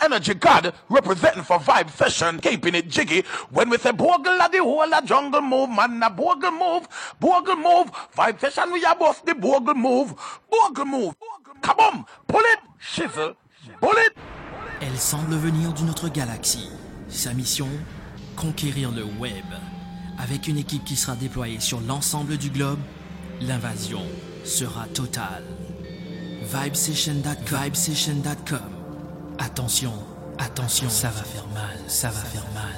energy god representing for Vibe Session, keeping it jiggy. When we say bogle at the whole a jungle move, man, a bogle move, bogle move. Vibe Session, we are both the bogle move, bogle move. Come on, pull it, shizzle, pull it. Elle semble venir d'une autre galaxie. Sa mission, conquérir le web. Avec une équipe qui sera déployée sur l'ensemble du globe, l'invasion sera totale. Vibesession.com. Attention, attention, ça va faire mal, ça va faire mal.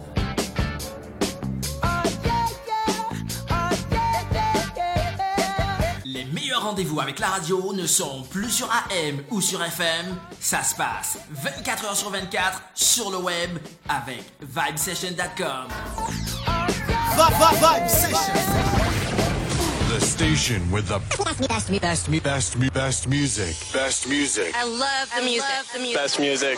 Les meilleurs rendez-vous avec la radio ne sont plus sur AM ou sur FM. Ça se passe 24 heures sur 24 sur le web avec Vibesession.com. Vibe Session. The station with the best music. Best music. I love the music. Best music.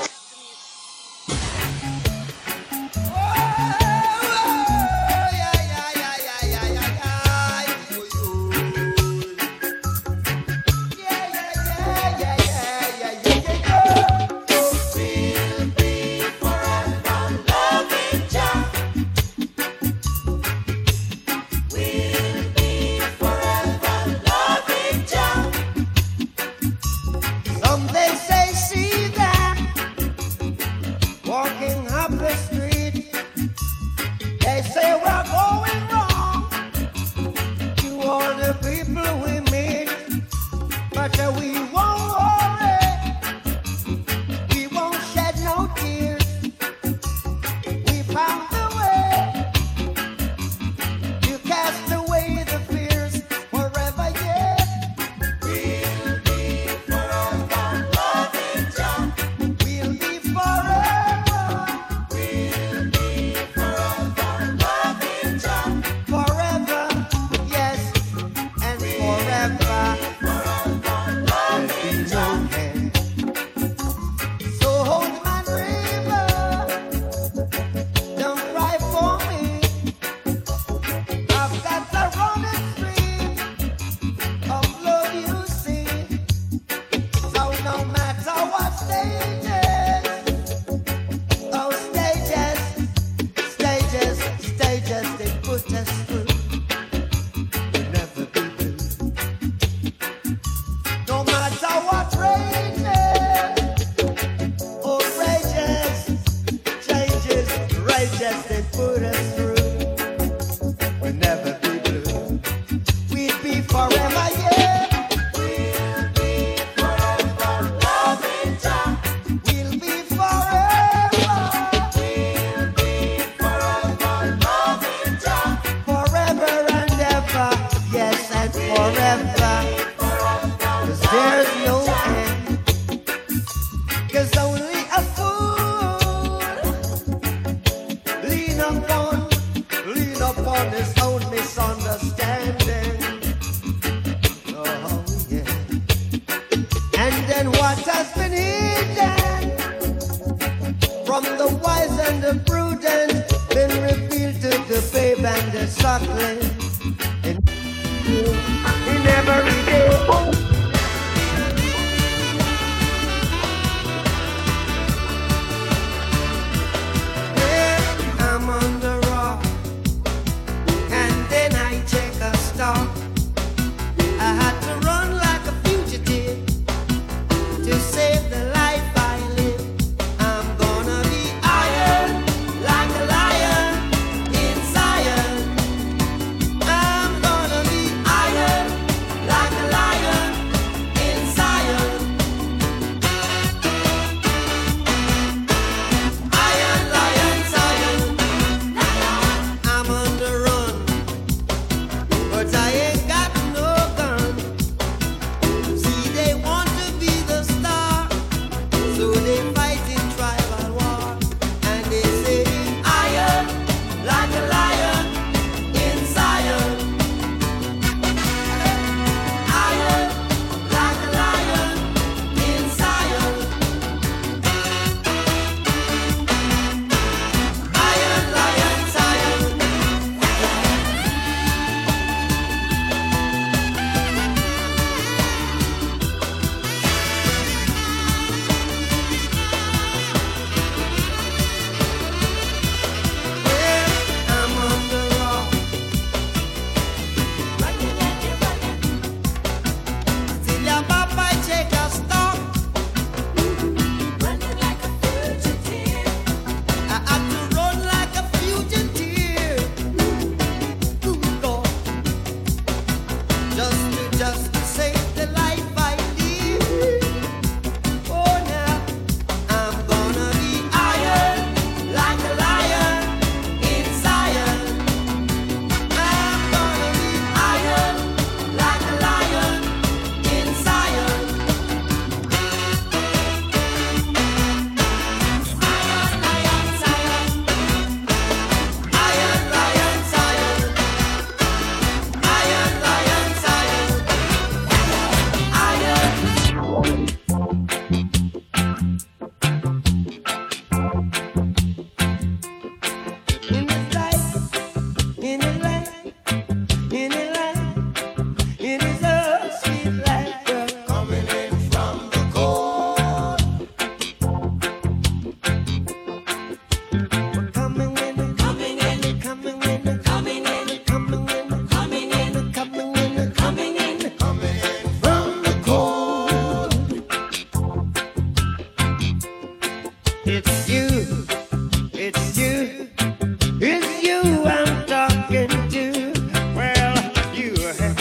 It's you, it's you, it's you I'm talking to. Well, you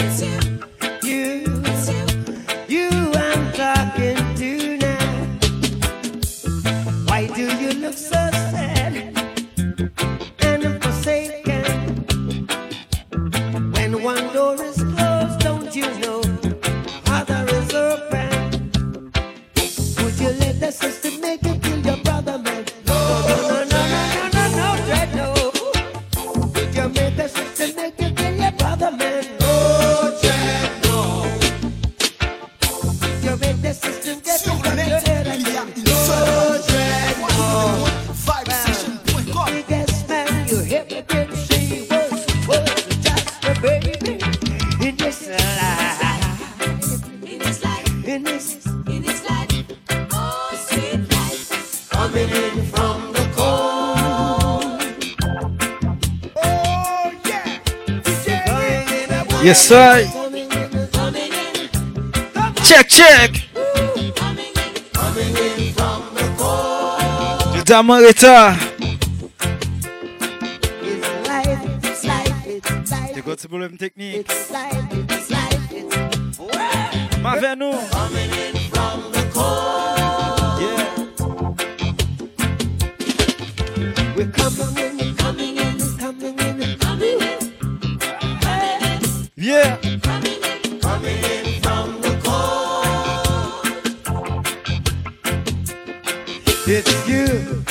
I'm talking to now. Why do you look so sad and forsaken? When one door is closed, don't you know other is open? Would you let the system make you kill your brother, man? No, Dread, no. Would you make the system make you kill your brother, man? No, Dread, no. Would you make the system get you from your head again? No, Dread, no. Biggest man you ever did see was just a baby in this life. In this life. Oh, sweet life. Coming in from the cold. Oh, yeah. Yes, sir. Check. Coming in from the cold. Du Damarita. It's life. Tu got problème technique. It's life. Ma vers nous. Coming in from the cold. Yeah. We're coming in. Yeah. Coming in from the cold. It's you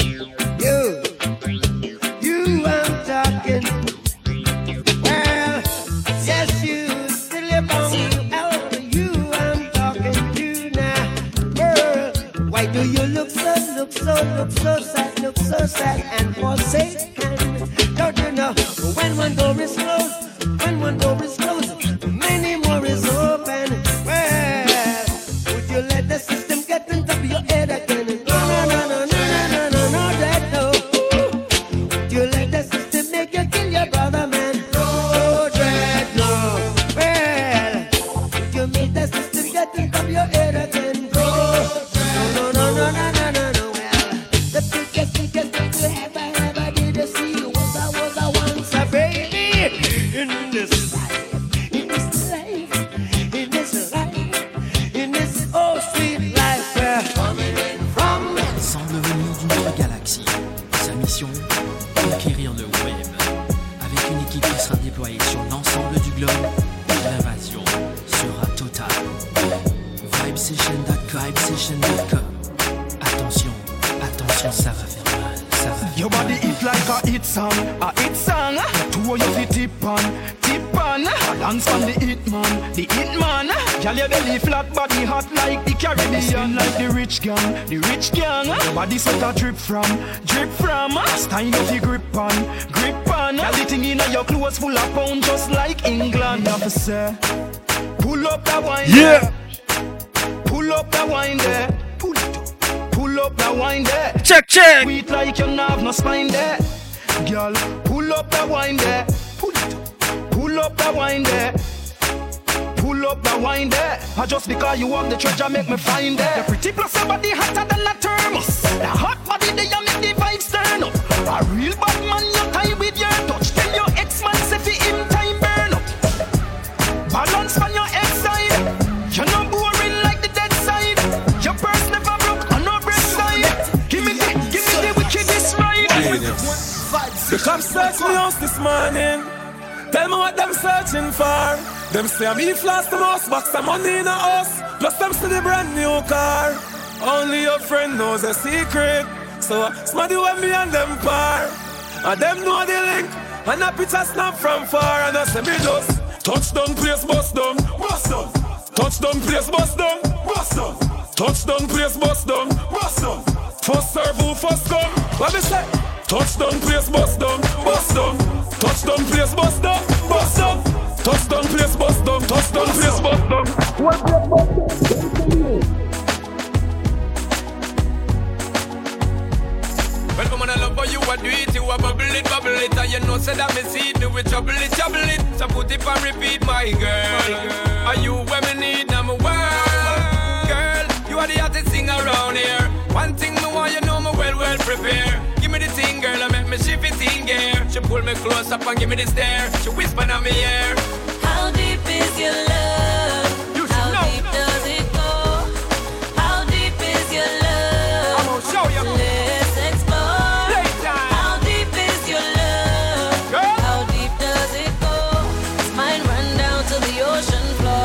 I'm talking. Well, yes, you still live on you I'm talking to now. Girl, why do you look so sad and forsaken? Don't you know when one door is closed, many more is open. Well, would you let the system get into your head again? No, that no. Would you let the system make you kill your brother, man? No, Dread, no. Well, would you make the system get into your head again? No. Well, the biggest thing you ever did see was I once a baby in this life, in this oh sweet life. Coming in from Il semble venir d'une autre galaxie. Sa mission, conquérir le web. Avec une équipe qui sera déployée sur l'ensemble du globe, l'invasion sera totale. Vibesession.com. Attention, ça va faire mal. Your body hit like a hit song. Two of you fi tip on. Dance on the hit man. Girl, your belly flat, body hot like the Caribbean, like the rich gang. Your body sweat a drip from. Style you fi grip on. Girl, the thing inna your clothes full of pound, just like England. You have to say, pull up that wine. Yeah. Pull up that wine there. Pull up that wine there. Check. Sweet like you have no spine there. Girl, pull up that wine there. Pull up that wine there. Pull up that wine there. Just because you have the treasure make me find there. You're pretty plus your body hotter than a thermos. The hot body there you make the vibes turn up. A real bad man you tie with your touch. Tell your ex-man say fi him time burn up. Balance on your ex-side. You're not boring like the dead side. Your purse never broke on no break side. Give me the wickedest ride. The cops search me house this morning. Tell me what them searching for. Them say me floss the most box of money in a house. Plus them see the brand new car. Only your friend knows a secret. So smarty when me and them par. And them know the link. And a picture snap from far. And I say me just touchdown place bust down. Touchdown place bust down. Touchdown place bust down. First serve who first come. What me say? Touchdown place bust down. Touchdown place bust down. Touchdown place bust down. Touchdown place bust down. Well, come on, I love how you a do it. You a bubble it, and you know say that me see it. Me with trouble it. So put it and repeat, my girl. Are you where me need number one? Girl, you are the hottest thing around here. One thing me want you know me fair. Give me the thing, girl, I make me shift it in gear. She pull me close up and give me the stare. She whisper in my ear. How deep is your love? How deep does it go? How deep is your love? I'm gonna show you. Let's explore. Playtime. How deep is your love? Girl. How deep does it go? Does mine run down to the ocean floor?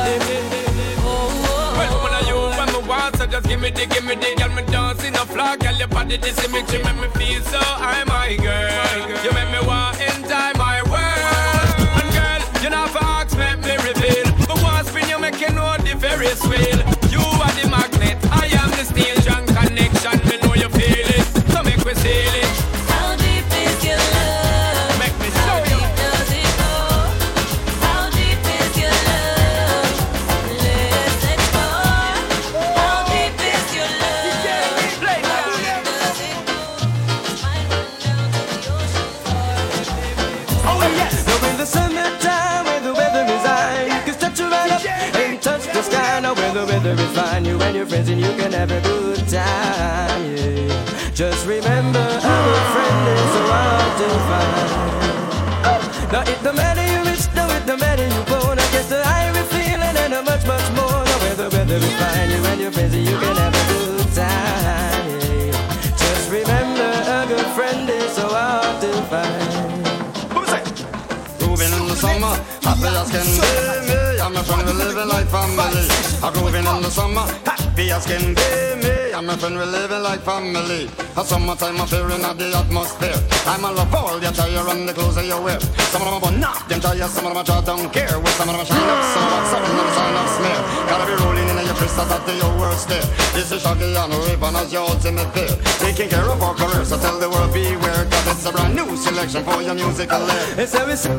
Well, when I you, when me want, so just give me the, girl, me dancing a flock, girl, your body, this image, you make me feel so, I'm my girl, you make me want enter my world, and girl, you know for ask, make me reveal, but once spin you make you know the Ferris wheel, you are the magnet, I am the station connection, me know you feel it, so make me seal it. How deep is your love? Make me show you. How deep does it go? How deep is your love? Let's explore. How deep is your love? How deep does it go? Does mine run down to the ocean floor? Oh yes. So in the summertime when the weather is high, you can stretch your right up and touch the sky. Now when the weather is fine, you and your friends and you can have a good time. Yeah. Just remember, our friend is so hard to find. Now it no matter you rich, now it no matter you poor. I get the higher feeling and a much more. Now when the weather is fine, you and your friends and you can have a good time. Yeah. Just remember, a good friend is so hard to find. Grooving in the summer, happy as can be. Me and my friend we living like family. A grooving in the summer, happy as can be. Me and my friend we living like family. A summertime appearing at the atmosphere. I'm a love all the attire and the clothes that you wear. Some of them are not them tire, some of them are try don't care. With some of them are shine up, some of them are something and sign up smear. Gotta be rolling in your crystals at your worst there. This is Shaggy and Raven as your ultimate pair. Taking care of our career, so tell the world beware. Cause it's a brand new selection for your musical lair. It's always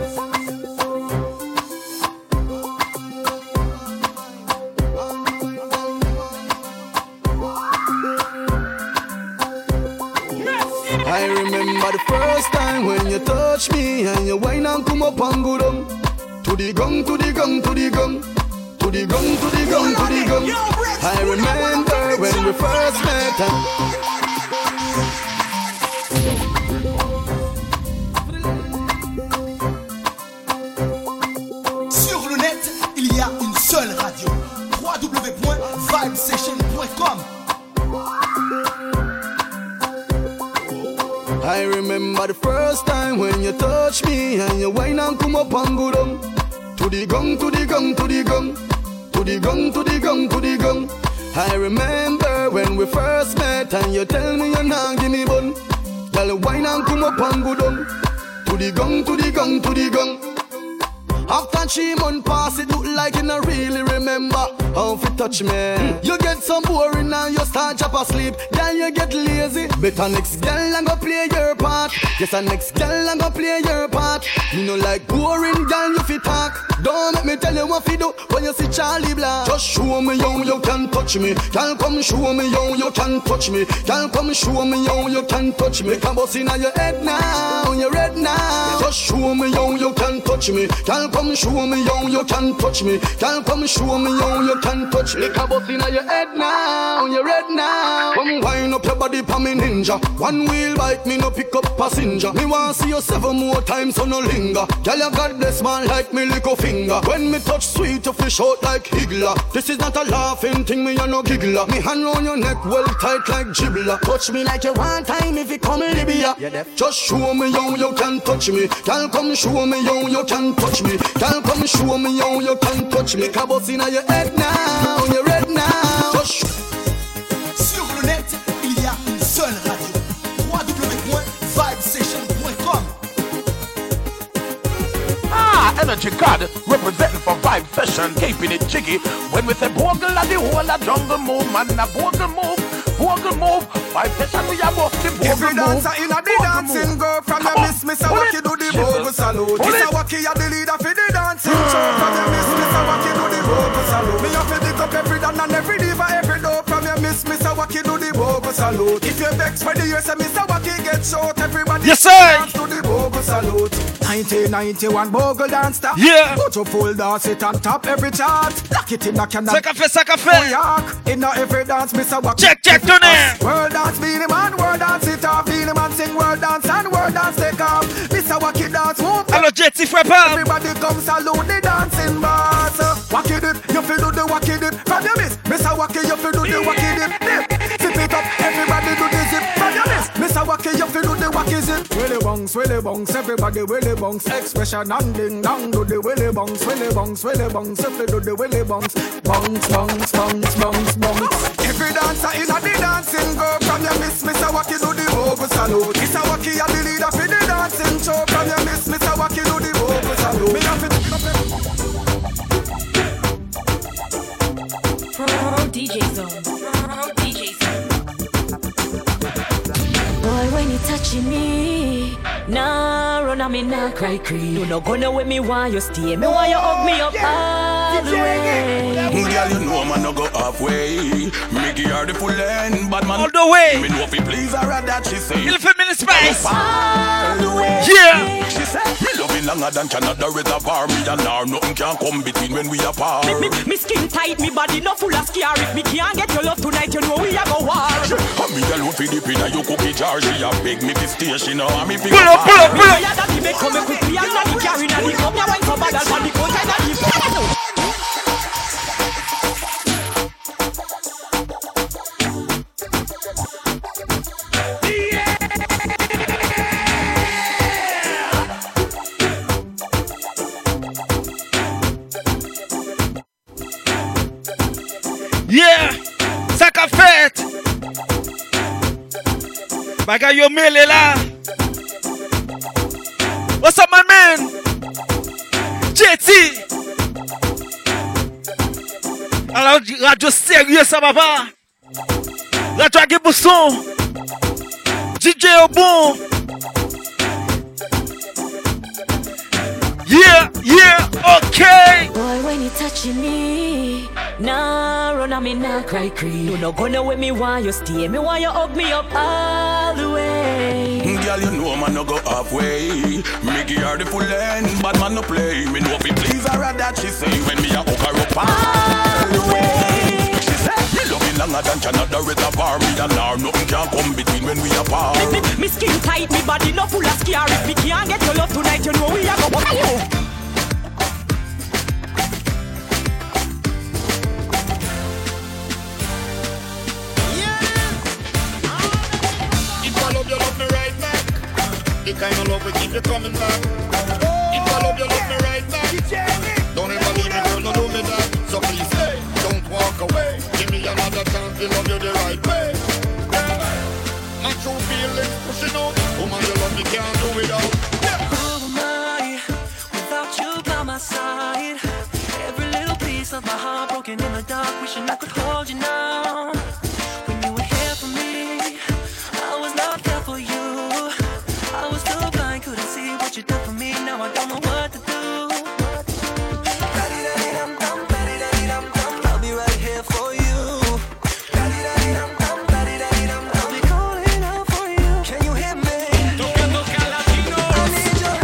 I remember the first time when you touched me and you whine and come up and go down. To the gong, to the gong, to the gong. To the gong, to the gong, to the gong. I remember when we first met Sur le net, il y a une seule radio. www.vibesession.com. I remember the first time when you touched me and you whine and come up and go down. To the gong, to the gong, to the gong. To the gong, to the gong, to the gong. I remember when we first met and you tell me you're not give me bun. Girl, whine and come up and go down. To the gong, to the gong, to the gong. After 3 months pass, it look like you not really remember how to touch me. You get some boring and you start drop asleep. Then you get lazy. Better next girl and go play your part. Yes, and next girl and go play your part. You know like boring girl you fit talk. Don't make me tell you what to do when you see Charlie Black. Just show me how you can touch me. Girl, come show me how you can touch me. Girl, come show me how you can touch me. Come bust in your head now, your head now. Just show me how you can touch me. Girl, come show me how you can touch me. Girl, come show me how you can touch me. Come bust in your head now, your head now. Come wind up your body pa me ninja. One wheel bike me no pick up passenger. Me want see you 7 more times so no linger. Girl, you got this man like me little finger. When me touch sweet you fish out like Higgler. This is not a laughing thing, me a no giggler. Me hand round your neck well tight like Gibbler. Touch me like you want time if you come Libya. Just show me how you can touch me. Girl, come show me how you can touch me. Girl, come show me how you can touch me. Cabos in your head now, your head now. Just Sur le net, il y a une seule radio. www.vibesession.com. Energy God representing for Vibe Session, keeping it jiggy. When we say bogle and the whole a jungle move, man, a bogle move. Vibe Session, we are both the bogle Every move. dancer in a the dancing go from the Miss Awaki do the bogle salute. Miss Awaki a the leader for the dancing show. From the Miss Awaki do the bogle salute. Me have to dig up every dan and every diva, every dope. From your Miss Awaki do the bogle salute. If you vex for the years, Miss Awaki get short. Everybody dance to the bogle salute. 1991 bogle dance stop. Yeah. Put your full dance it on top every chart. Lock it in a canal. Ça qu'a fait. In every dance, Miss Awaki. Check, tournez. World dance, Beenie Man, world dance it off, Beenie Man. a walk it dance move. Alors Jetty fait pas. Everybody come salute the dancing boss. Walk it dip, you feel do the walk it dip. From your miss a walk it, you feel do the walk it dip. Dip, zip it up, everybody do the zip. From your miss a walk it, you feel do the walk it zip. Willy bongs, everybody willy bongs. Expression and ding dong, do the willy bongs, willy bongs, if you do the willy bongs. Bongs. Every dancer in a the dancing go. From your miss a walk it, do the vocal salute. Miss a walk it, the leader for the dancing show. From your miss a walk it, do the vocal salute. Me have to DJ Zone. Boy, when you touching me, nah, run on me, nah, cry. You no gonna with me while you stay. Me while you hug me up all the way. Girl, you know man no go halfway. Me give her the full end, but man all the way. Me know if he please her that she say. Il fait minute spice. All the way. Yeah. She said me loving longer than Canada reservoir. Me and her nothing can come between when we apart. Me skin tight, me body no full of scare. If me can't get your love tonight, you know we a go war. And me alone fi dip inna your cookie jar. She a beg me fi stay, she know and me fi pull up. Yeah, that me come quickly and not the carry na the cup. Ya wine for bad and for the coat and the Yeah, ça qu'a fait. Bagay yo mêlé là. What's up my man? JT. Alors radio sérieux ça va pas. Radio à Bousson. DJ au bon. Yeah, okay. Boy, when you touching me, nah, run on me, nah, cry. You no gonna with me while you stay. Me while you hug me up all the way. Girl, you know man no go halfway. Me give her the full end, but man no play. Me know if he please her that she say. When me a hook her up all the way. She say me loving longer than Canada reservoir. Me and her nothing can come between when we apart. Me skin tight, me body no full of scare. If me can't get your love tonight, you know we a go war. The kind of love will keep you coming back. If I love you, love me right back. Don't ever leave me, girl, no do me that. So please, hey, don't walk away. Give me another chance to love you the right way. My true feelings pushing out. Woman, you love me, can't do without. Who am I without you by my side? Every little piece of my heart broken in the dark, wishing I could hold you now. When you were here for me, I was not there for you. I was too blind, couldn't see what you did for me. Now I don't know what to do. I'll be right here for you. I'll be calling out for you. Can you hear me? I need your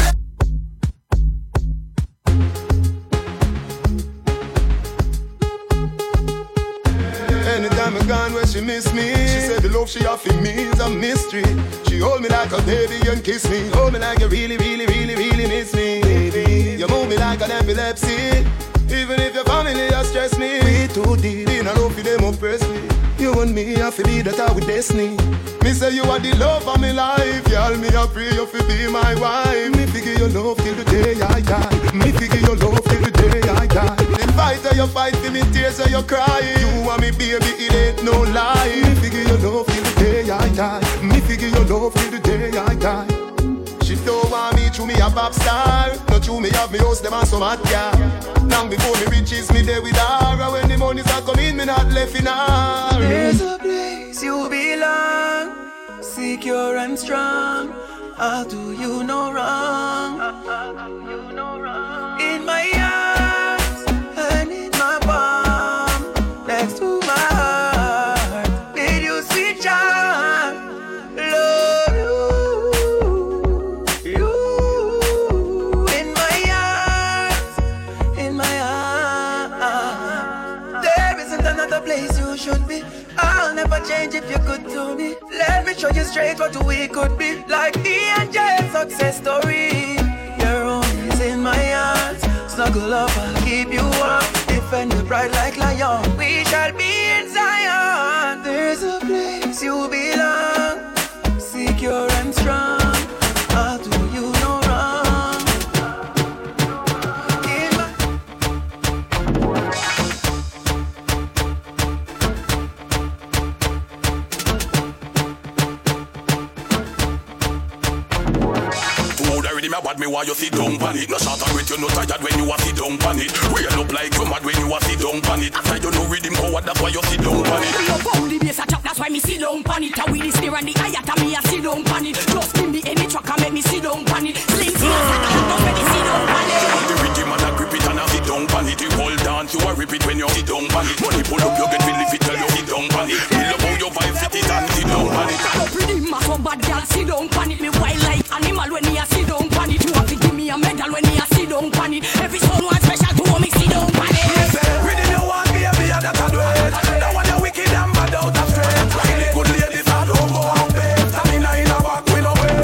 Anytime I gone where she miss me, she said the love she offer me is a mystery. She hold me like a baby and kiss me. Hold me like you really miss me. Baby, you move me like an epilepsy. Even if your family has stressed me, we too deep in a love for them oppress me. You and me, I feel be that I with destiny. Me say you are the love of my life. Y'all me I pray you fi be my wife. Me figure your love till the day I die. Me figure your love till the day I die. Then fight or you fight for me tears or you cry. You and me baby it ain't no lie. Me figure your love till the day I die. Me figure your love till the day I die. She don't want me to me a pop star. Not to me have me house them and some hot girl. Long before me riches me there with her. And when the monies are coming me not left in her. There's a place you belong, secure and strong. I'll do you no wrong. In my arms and in my palm, next to my heart, need you sweet charm. Love you in my arms, in my arms. There isn't another place you should be. I'll never change if you could to me. Let me show you straight what we could be. Like E&J success story. Your home is in my arms. Snuggle up, I'll keep you warm. Defend the pride like lion. We shall be in Zion. There's a place you belong. Secure and strong. I'll do you no wrong. Me bad me why you sit down pan it. No short and wait, you no tired when you a sit down pan it. Real up like you mad when you a sit down pan it. After you know rhythm coward, that's why you sit down pan it. Love how the bass a chop, that's why me sit down pan it. A with the snare and the hi-hat and me a sit down pan it. Just give me any track and make me sit down pan it. Sling fast like a just make me sit down pan it. The rhythm and a grip it and a sit down pan it. You hold dance, you a rip it when you sit down pan it. Money pull up, you get feel if it tell you sit down pan it. Me love how you vibe fit it and sit down pan it. Up with the mass of bad girl, sit down pan it. Me wild like animal when me a sit down pan it. You have to give me a medal when me a sit down pan it. Every song one special to me sit down pan it. Rhythm you want baby, and that I do it. That one you wicked and bad out of straight. Really good ladies that don't go out bed. Stamina in a back, we no way.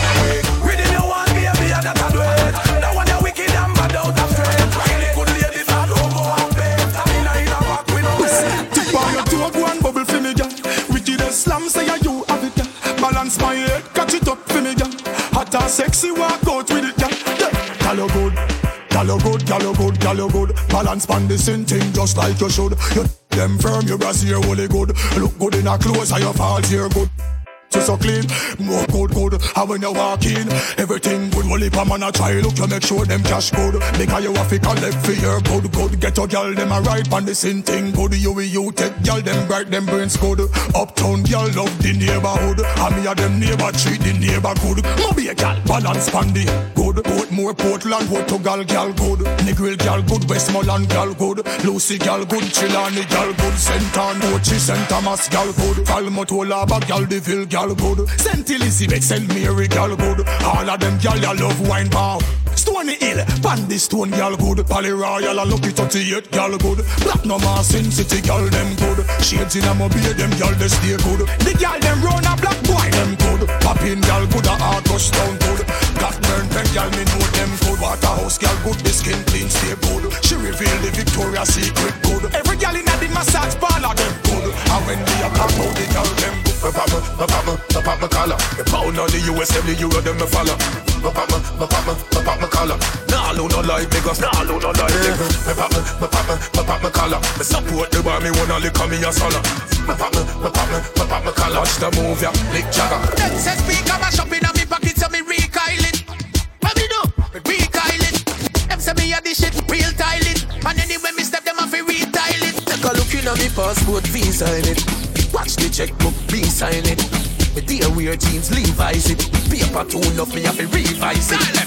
Rhythm you want baby, and that I do it. That one you wicked and bad out of straight. Really good ladies that don't go out bed. Stamina in a back, we no way. Tip on your toe, go and bubble for me, girl. Wickedest slam, say you have it, girl. Balance my head, catch it up for me, girl. Hot and sexy, walk out with it, girl. Girl, you good. Girl, you good, girl, you good, girl, you good. Balance pan the same thing just like you should. You them firm, your brassiere really good. Look good in a clothes and your falls here good. So clean, more good. And when you walk in, everything good. Only pa man a try look, you make sure them cash good. Because you have to collect for your good. Get your girl, them a ride pan the same thing good. You take girl, them bright, them brains good. Uptown girl love the neighborhood. And me a them neighbor treat the neighbor good. Moby a girl, balance pan the good. Portmore, Portland, Portugal girl good. Negril girl good, Westmoreland girl good. Lucy girl good, Chilani girl good. St. Anochi, St. Thomas girl good. Falmouth, Laba girl, Deville girl good. St. Elizabeth, St. Mary girl good. All of them girl you love wine bar. Stony Hill, Pandy Stone girl good. Pally Royal and Lucky 38 girl good. Black no more Sin City girl them good. Shades in a mobile them girl they stay good. The girl them run a black boy them good. Poppin girl good a Arcus Town good. Blackburn pen girl me know them good. Waterhouse girl good, the skin clean stay good. She reveal the Victoria's Secret good. Every girl in the massage parlor them good. And when they a come out the girl them good. Pop my collar. The pound on the US, every euro them me follow. Pop my collar. Nah, no like niggas. Nah, no like niggas. Pop my collar. Me support the bar, me wanna lick on me a solo. Pop my collar. Watch the move, yeah, lick jagger. Them say speaker mash up inna me pocket, so me recoil it. What me do? Recoil it. Them say me a this shit, real tile it. And anyway me step them off, retile it. Take a look inna me passport, visa in it. Watch the checkbook, be sign it. Me dear wear jeans, Levi's it. Paper too enough, me have to revise it.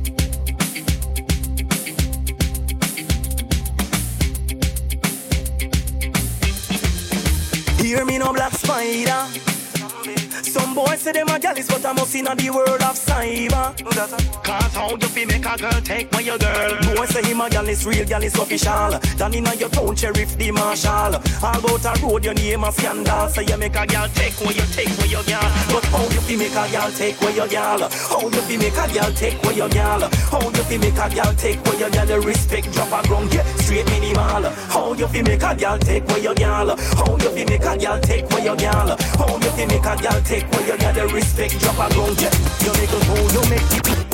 Hear me no black spider. Some boys say them a jealous, but I must in the world of cyber. Cause how you fi make a girl take my your girl? Boys say him a jealous, real jealous official. Down in your town, sheriff the marshal. All about a road, your name a scandal. So you make a girl take what you your girl. But how you fi make a girl take what your girl? How you fi make a girl take what your girl? How you fi make a girl take what your girl? The respect drop a ground, get straight minimal. How you fi make a girl take what your girl? How you fi make a girl take what your girl? How you fi make a girl take what you got the respect drop a ground, yeah. You make a go, you make it.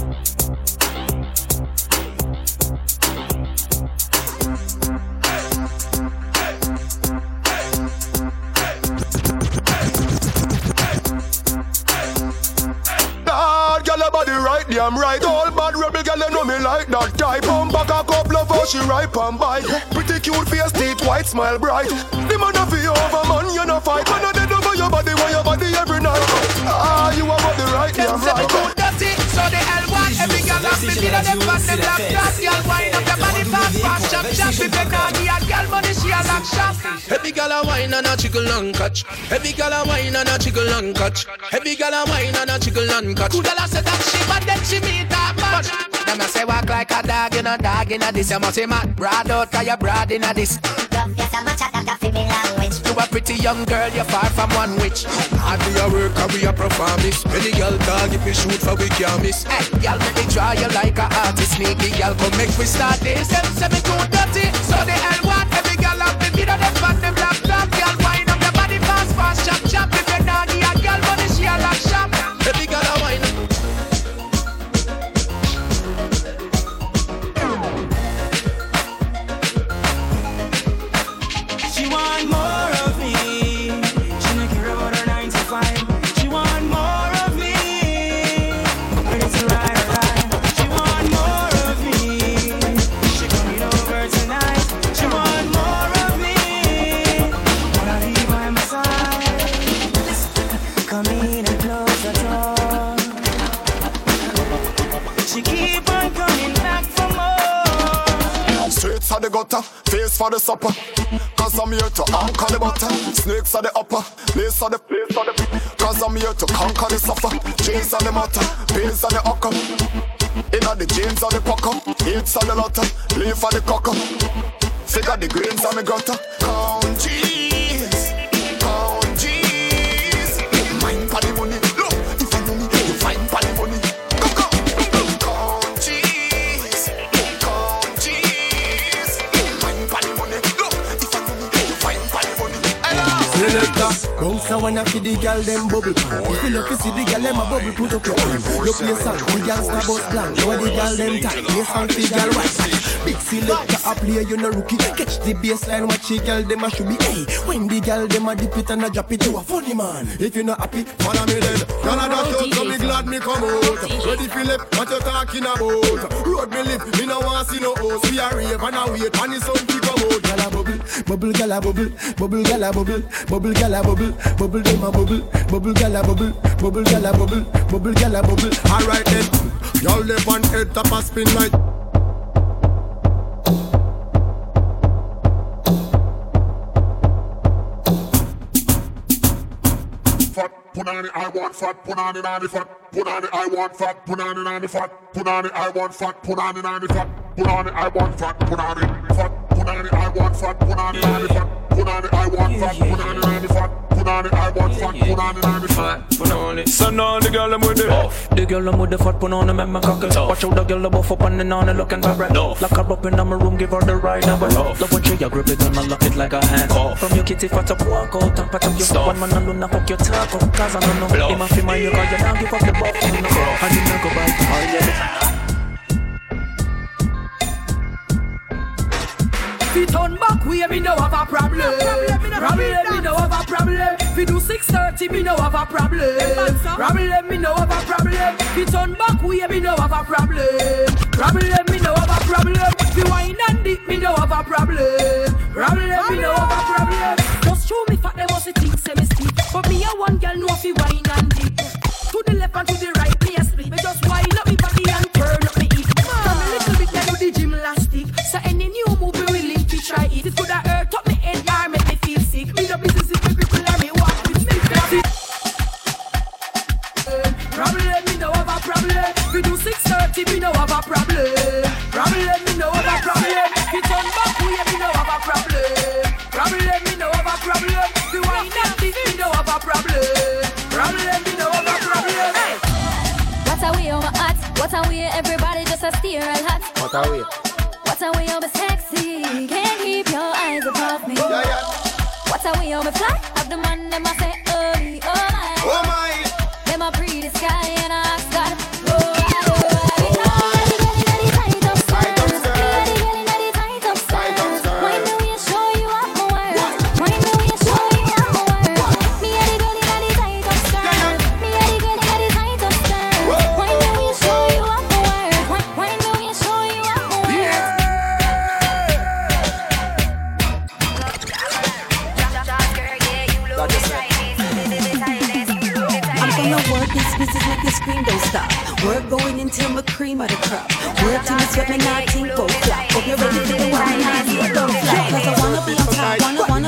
Lord, girl, your body right, damn right. All bad rebel girl, you know me like that type. Pump back a couple of how she ripe and bite. Pretty cute face, teeth white, smile bright. The man of you over, man, you no fight. Man, I did over your body, want your body every night. Ah, you are body right, damn right. So the L1, every girl have me feel them fat, them black glass. Girl wind up your body fast, chop, chop. If you can't be a girl money, she a lock shop. Every girl a wine and a chickle and catch. Every girl a wine and a chickle and catch. Every girl a wine and a chickle and catch. Good girl a say that she bad, then she meet her match. Them a say walk like a dog, you know dog inna this. You must say mad broad out 'cause you broad inna this. Yes, I'm a chat that fi me language. You a pretty young girl, you're far from one witch. Hard we a work and we a perform this. Many girl dog if we shoot for we can't miss. Hey, girl make me draw you like a artist. Sneaky girl come make we start this. Them say me too dirty, so the hell want every girl have the video them on them laptop. Girl wind up your body fast, fast, chop, chop. If you're naughty, a girl money she a lock shop. Every girl a wine. She want more of me. She don't care about her 9 to 5. She want more of me. When it's right, right. She want more of me. She coming over tonight. She want more of me. Wanna be by my side. Come in and close the door. She keep on coming back for more. Streets for the gutter, face for the supper. Cause I'm here to anchor the butter. Snakes are the upper, lace for the place for the. Cause I'm here to conquer the suffer. Chains on the matter, pains on the ucker. Inna the jeans on the pucker. Hits on the lotter, leave for the cocker. Figure the grains on the gutter. Count G's, count G's. Mind for the money, look, if I know me, you find for the money. Count G's, count G's. Mind for the money, look, if I know me, you find for the money. Selector, bounce a wanna see the girl them bubble. If you look to see the girl them a bubble, put up your hand. You play song, the girl star bus blank. Know the girl them tight, play song for girl white. Big selector a play, you no rookie. Catch the baseline, watch the girl them a should be. Hey, when the girl them a dip it and a drop it, you a funny man. If you not happy, follow me then. Girl a duck out, so me glad me come out. Ready Philip, what you talking about? Road me live, me no want see no host. We a rave and a wait, and the sun to come out. Girl a bubble, bubble, girl a bubble, bubble, girl a bubble. Bubble gala bubble, bubble dem a bubble, bubble gala bubble, bubble gala bubble, bubble gala bubble. Alright then, y'all live on head top a spin like. Fat, put on it, I want fat, put on it on the fat, put on it, I want fat, put on it on the fat, put on it, I want fat, put on it on the fat, put on it, I want fat, put on it, fat, put on it, I want fat, put on it on the fat. Put on it, I want fat, put on it on the fat. Put on it, I want fat, put on it on the fat. Put on it. So now the girl I'm with the off. The girl I'm with the fat, put on it, make my cock it. Watch out the girl I'm buff up and then on it looking bad. Lock her up in my room, give her the ride. Now love when she grip it and I lock it like a hand. From your kitty fat up, walk out and pat up your stuff. One man alone, knock up your taco. Cause I don't know. In my feel my you got you now, give up the buff. And you now go back. Oh yeah. Fi turn back way, me no have a problem. Problem, me no have a problem. Fi do 6:30, me no have a problem. Problem, me no have a problem. Fi turn back way, me no have a problem. Problem, me no have a problem. Fi wine and dip, me no have a problem. Problem, me no have a problem. Just show me fat, them must think say me stick. But me a one girl know fi wine and dip. To the left and to the right, me a split. Me just wine up me body and turn up me hip. From a little bit, I do the gymnastic. So any new move we willing to try it. It coulda hurt up me head or make me feel sick. Me no business if me cripple or me walk with stick. Problem, me no have a problem. We do 6:30, me no have a problem. Problem, me no have a problem. We turn back way, me no have a problem. Problem, me no have a problem. We wine and dip, me no have a problem. Problem, me no have a problem. Hey. What a way over hot, what a way everybody just a stare and hot. What a way. What a way over sexy, can't keep your eyes above me. Yeah, yeah. What a way over fly, have the man them a say, oh me, oh my. Oh my. Them a pretty sky and I ask God, oh I. Scream, don't stop. Work going until my cream of the crop. Work till it's got me 19 go flop. Hope you're ready to do what I need. Don't flop. Cause I wanna be on top, wanna be on top.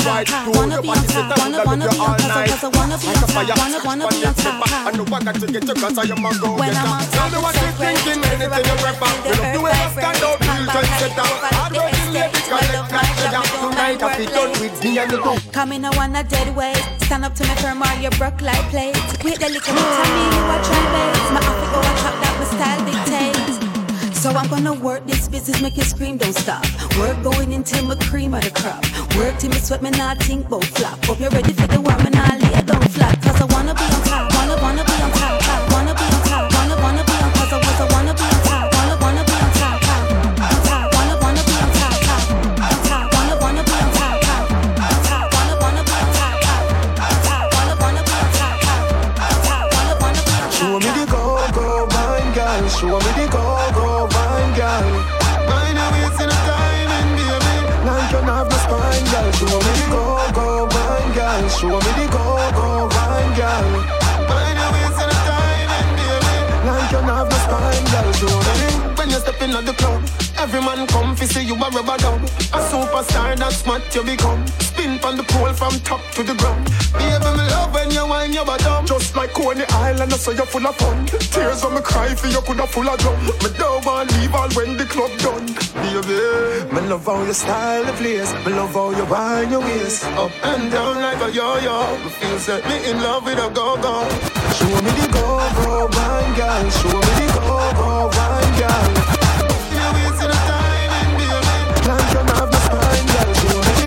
top. Wanna be on top. Wanna be on top. Cause I wanna be on top. Wanna be on top. I know I got to get you cause I am a go. When I'm on top, tell me what you thinking, anything you prefer. We love the way I stand up, real trendsetter. Hard working lady, collect like sugar. Tonight I feel done with me and you go. Come in, I want a dead weight. Stand up to me firm or you broke like plates. Wait the little bit of me, you a try base. My outfit go a chop that my style dictates. So I'm gonna work this business, make you scream, don't stop. Work going until my cream of the crop. Work till me sweat, me not think about flop. Hope you're ready for the work, me not lay down flat. Cause I wanna be on top, wanna be on top. Wanna be on top, wanna be on. Cause I wanna be on top, wanna be on top. On top, wanna be on top. On top, wanna be on top. On top, wanna be on top. On top, wanna be on top. On top, wanna be on top. Show me the go-go wine, girl. Show me the go-go wine, girl. Mind your waist in a diamond, baby. Like you have no spine, girl. Show me the go-go wine, girl. Show me the go-go wine, girl. Mind your waist in a diamond, baby. Like you have no spine, girl. Show me. When you step in at the club, every man come fi see you a rubber dub. A superstar, that's what you become. Spin from the pole from top to the ground. Baby, me love when you whine your bottom. Just like Coney Island, I say you're full of fun. Tears when me cry for you coulda full of drum. Me don't want leave all when the club done. Baby, me love how your style the place. Me love how you whine your waist up and down like a yo-yo. Me feel set me in love with a go-go. Show me the go-go wine, girl. Show me the go-go wine, girl. You're wasting the time and baby, like you have the spine, girl. Show me.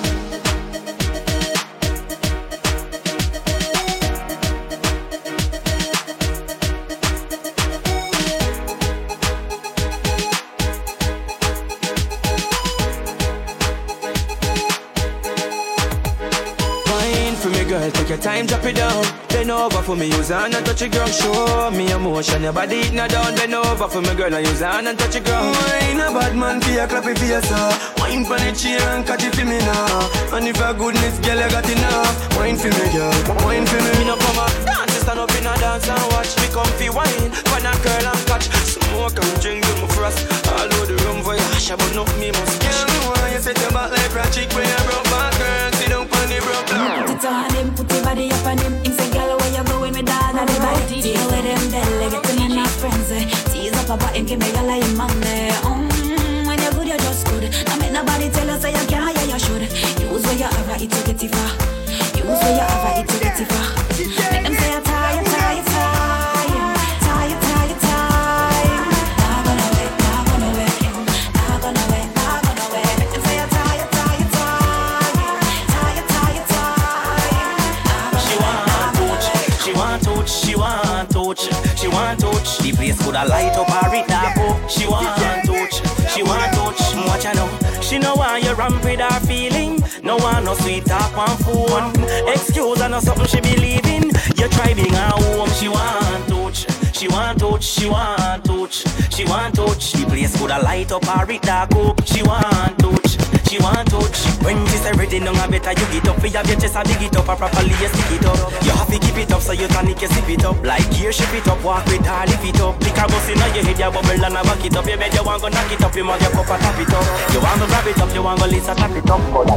Girl, take your time, drop it down. Bend over for me, use hand and touch your ground. Show me emotion, your body it not down. Bend over for me, girl, and use hand and touch your ground. Wine a bad man, for your clap it for your sir. Wine for the chair and catch it for me now. And if a goodness, girl, you got enough. Wine for me, girl, wine for me. Me no come up, dance, stand up in a dance and watch. Me comfy wine, when a girl and catch. Smoke and drink with my frost. All over the room for your hash, but no me must catch. You set your back like a chick when you broke back, girl. Sit down on the broke down. Put it on him, put your body up on him. Him say, girl, where you going with that? And the body deal with him, belly, get to me not friends. Tease up about him, give me a like money. When you're good, you're just good. I make nobody tell us that you can't, yeah, you should. Use where you have it to get it far. Use where you have it to get it far. Make them say you're tired, tired, tired. Tired, tired, tired. Not gonna wait, not gonna wait. Not gonna wait, not gonna wait. Make them say you're tired, tired, tired. Tired, tired, tired. She want touch, she want touch, she want touch, she want touch. The place coulda light up or it dark up. She want touch, she want touch. Watch her now, she no want you ramp with her feeling. No want no sweet talk on phone. Excuse her no something she believe in. You try being her home. She want touch, she want touch, she want touch, she want touch. The place coulda light up or it dark up. She want touch, she want touch. When she say ready, no better you get up. For your chest a dig it up, a properly you stick it up. You have to keep it up so you tonic you sip it up. Like gear ship it up, walk with her, lift it up. Lick a bus in your head, you bubble and a back it up. You bet you want go knock it up, you mug your cup and tap it up. You want to grab it up, you want go listen tap it up.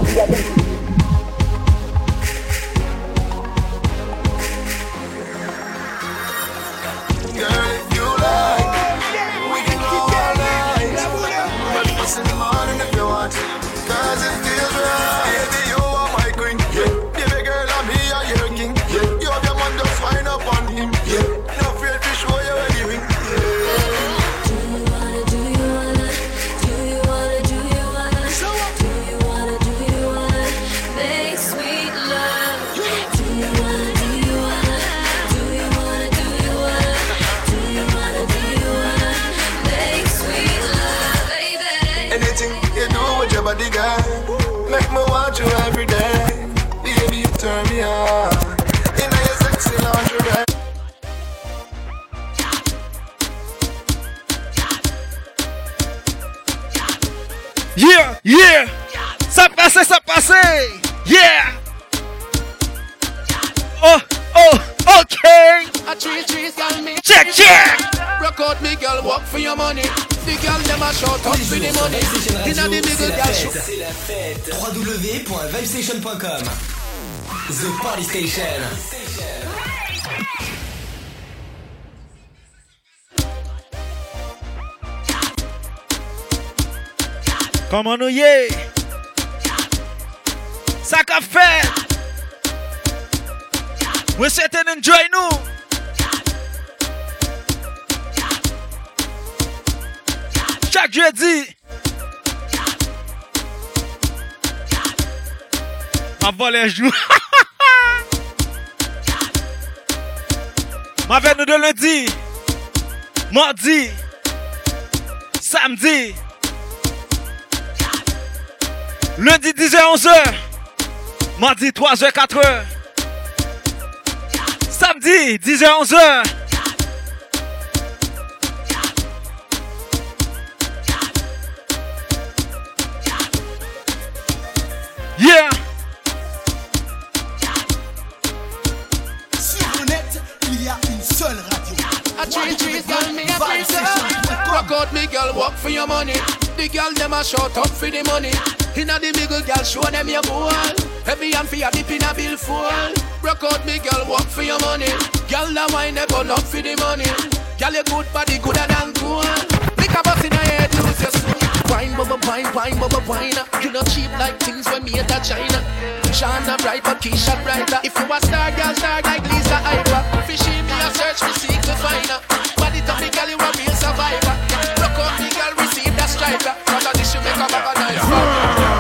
Girl, if you like, we can go all night. Breakfast in the morning if you want, cause it feels right. Baby, you are my queen, yeah. Baby girl, I'm here, you're king, yeah. You have your man, just wind up on him, yeah. No afraid to show you anything, yeah. Make sweet love. Anything you do with your body, girl, make me want you every day. Baby, you turn me on. In your sexy lingerie. Yeah, yeah. Ça passe, ça passe. Yeah. Oh, oh, okay. A tree, got me. Check, check. Rock out me, girl, work for your money. The girl them a shout up for the money. Inna the big girl show. C'est la fête. www.vibestation.com. The Party Station. Comment nous y est? Ça qu'a fait? We sit and enjoy nous. Chaque jeudi. Ma volée joue. Ma veille nous de lundi. Mardi. Samedi. Lundi 10h 11h. Mardi 3h 4h. Samedi 10h 11h. Yeah. Sur le net, il y a une seule radio. A tree girl, me a freezer. Rock out me girl, work for your money. The girl them a shout up for the money. Inna the big girl, show them your ball. Every hand for your dip in a bill full. Rock out me girl, work for your money. Girl that wine they burn up for the money. Girl your good body gooder than gold. Make a bus in your head, lose your soul. Wine, bubble, wine, wine, bubble, wine. You not cheap like things when made at China. Shana bright, but Keisha brighter. If you a star, girl, star like Lisa Ivor. Fishy me a search, me seek to find her. Body top me girl, you a real survivor. Rock out me girl, receive that striker. Cause this should make a bag of nice fun.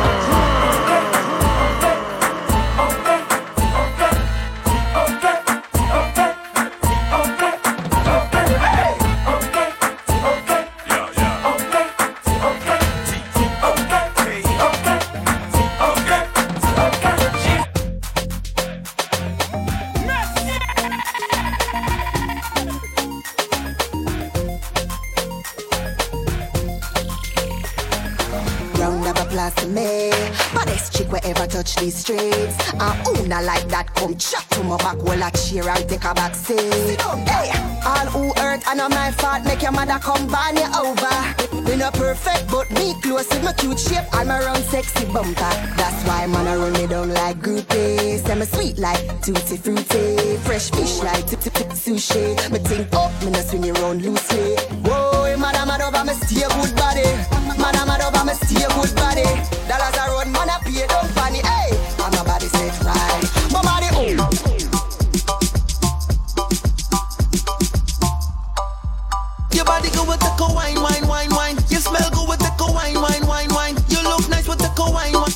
To me, baddest chick wherever touch these streets. And who not like that come chat to my back while I cheer and take a back seat. Hey, all who hurt and on my fault make your mother come ban you over. Me not perfect but me close with my cute shape and my round sexy bumper. That's why man I run me down like groupie. Say me sweet like tutti frutti, fresh fish like tip sushi. Me think up, me not swing around loosely. Whoa, madam over me stay good body. Madam over me stay good body. Dollars a road, man a pay down funny. Hey, and my body set right. My body Your body go with the wine, wine, wine, wine. You smell good with the wine, wine, wine, wine. You look nice with the wine, wine.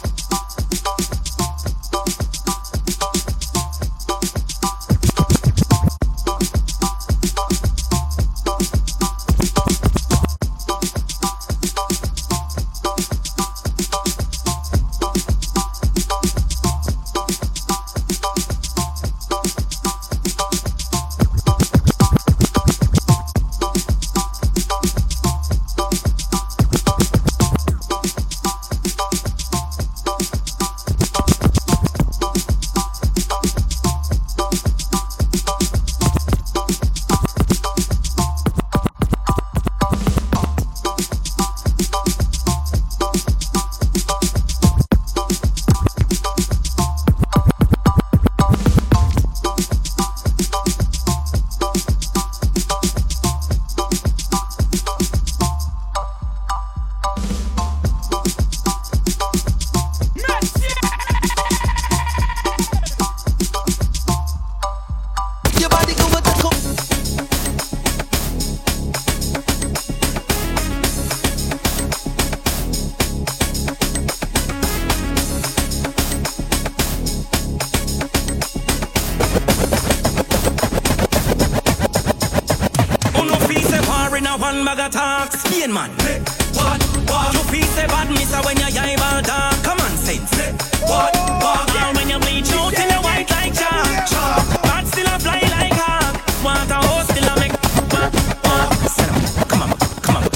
one bag of talk. Spain man. What? You feel say bad, mister, when your eyeball dark. Come on, sense. What? Now when you bleach out in your white like chalk. Bad still a fly like hawk. Want a horse still a make. Come on, come on.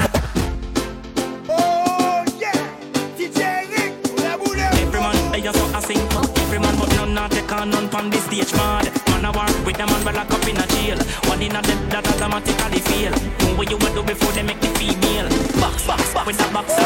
Oh yeah, DJ Rick, la boule. Every man, they just so I sing. Every man, but none not take on none on the stage, man. Man a work with them man, well lock up in a jail. One in a them that automatically fail. Know what you would do before they make the female. with a box.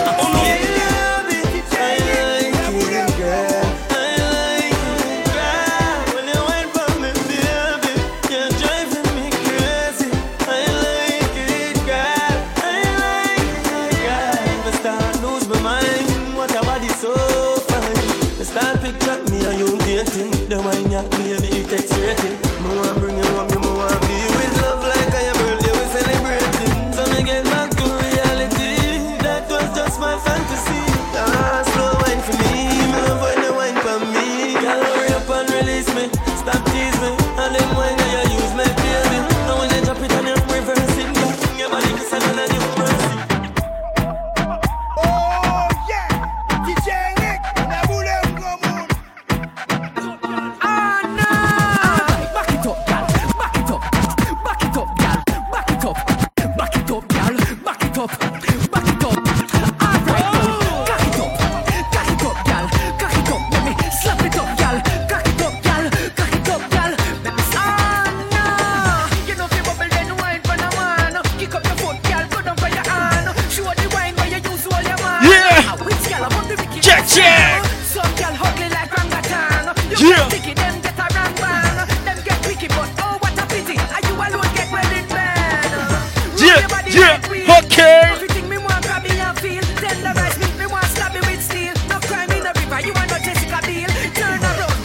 The wine ya, baby, it takes rating. More bring you up, you more be with love like I am birthday, we celebrating. So me get back to reality. That was just my fantasy. Ah, slow wine for me, me love when you wine for me. Girl, hurry up and release me, stop tease me. And them wine that you use, my baby. Now when you drop it and you reverse it, your body is seven and you press it. Oh yeah, DJ Nick, la boule comme on. Check. Some girl ugly like orangutan. You Yeah. can't pick it, them get a wrong man. Them get picky, but oh what a pity. Are you alone get well in bed? Yeah. Okay. Everything me want grab me and feel. Tenderize me want stab me with steel. No crime in the river, you are not Jessica Biel. Turn around.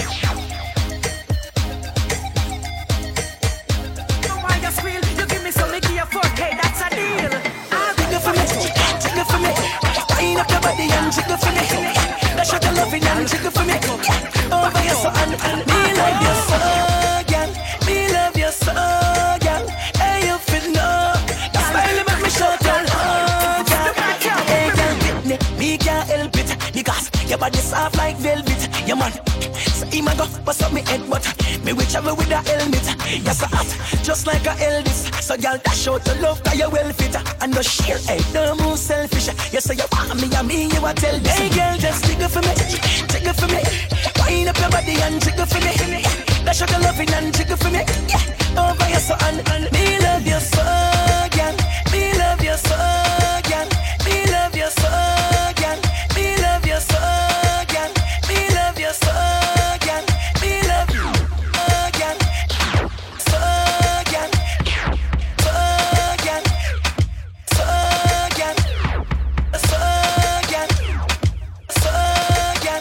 No why you squeal. You give me some, me give you 4K, that's a deal. Ah, jiggle for me, jiggle for me. Wind up your body and jiggle for me. That's what I love it and jiggle for me. Over your soul and me love your soul, girl. Me love your soul, girl. Hey, you feel no. That style make me shout girl. Oh, girl. Hey, girl, me can't help it because your body soft like velvet. Yeah, man. So he might go bust up me head, but me will travel with a helmet. You're so hot, just like a Elvis. So girl, dash out the love 'cause you well fit. And no sheer, hey, don't move selfish. You say you want me, and me, you a tell me. Hey girl, just jiggle for me, jiggle for me. Wind up your body and jiggle for me. Dash out the loving and jiggle for me. Yeah, over your soul and me love your soul, girl. Me love your soul, girl. Me love your soul, girl. Me love your soul, girl. Me love your soul, girl. Me love you, girl. Soul, girl. Soul, girl. Soul, girl. Soul, girl. Soul, girl.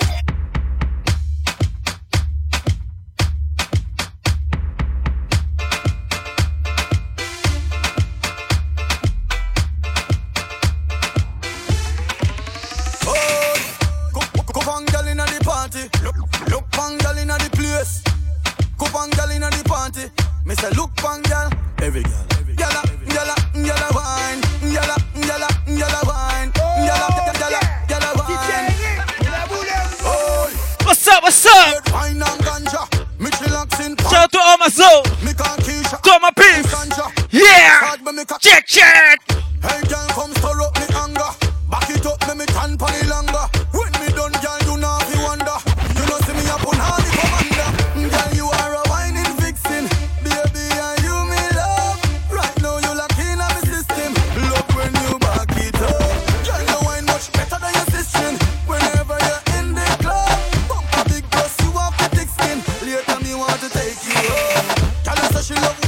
Cup and gal inna the party. Look pan gal inna the place. Cup and gal inna the party. Me say look pan gal. Every gal. Gyal wine. Gyal wine. Gyal wine. Oh. What's up? Wine and ganja. Me chillax in party. Shout out to all my soul. To all my peeps. Yeah. Check. Hey girl, come stir up me anger. Back it up, make me can pan it longer. When me done, girl, you know if you wonder. You know see me up on all the commander. Girl, you are a whining vixen. Baby, and you me love. Right now you lock in on me system. Love when you back it up. Girl, you wine much better than your sister. Whenever you're in the club, bump a big bus, you have the thick skin. Later me want to take you up. Girl, I say she love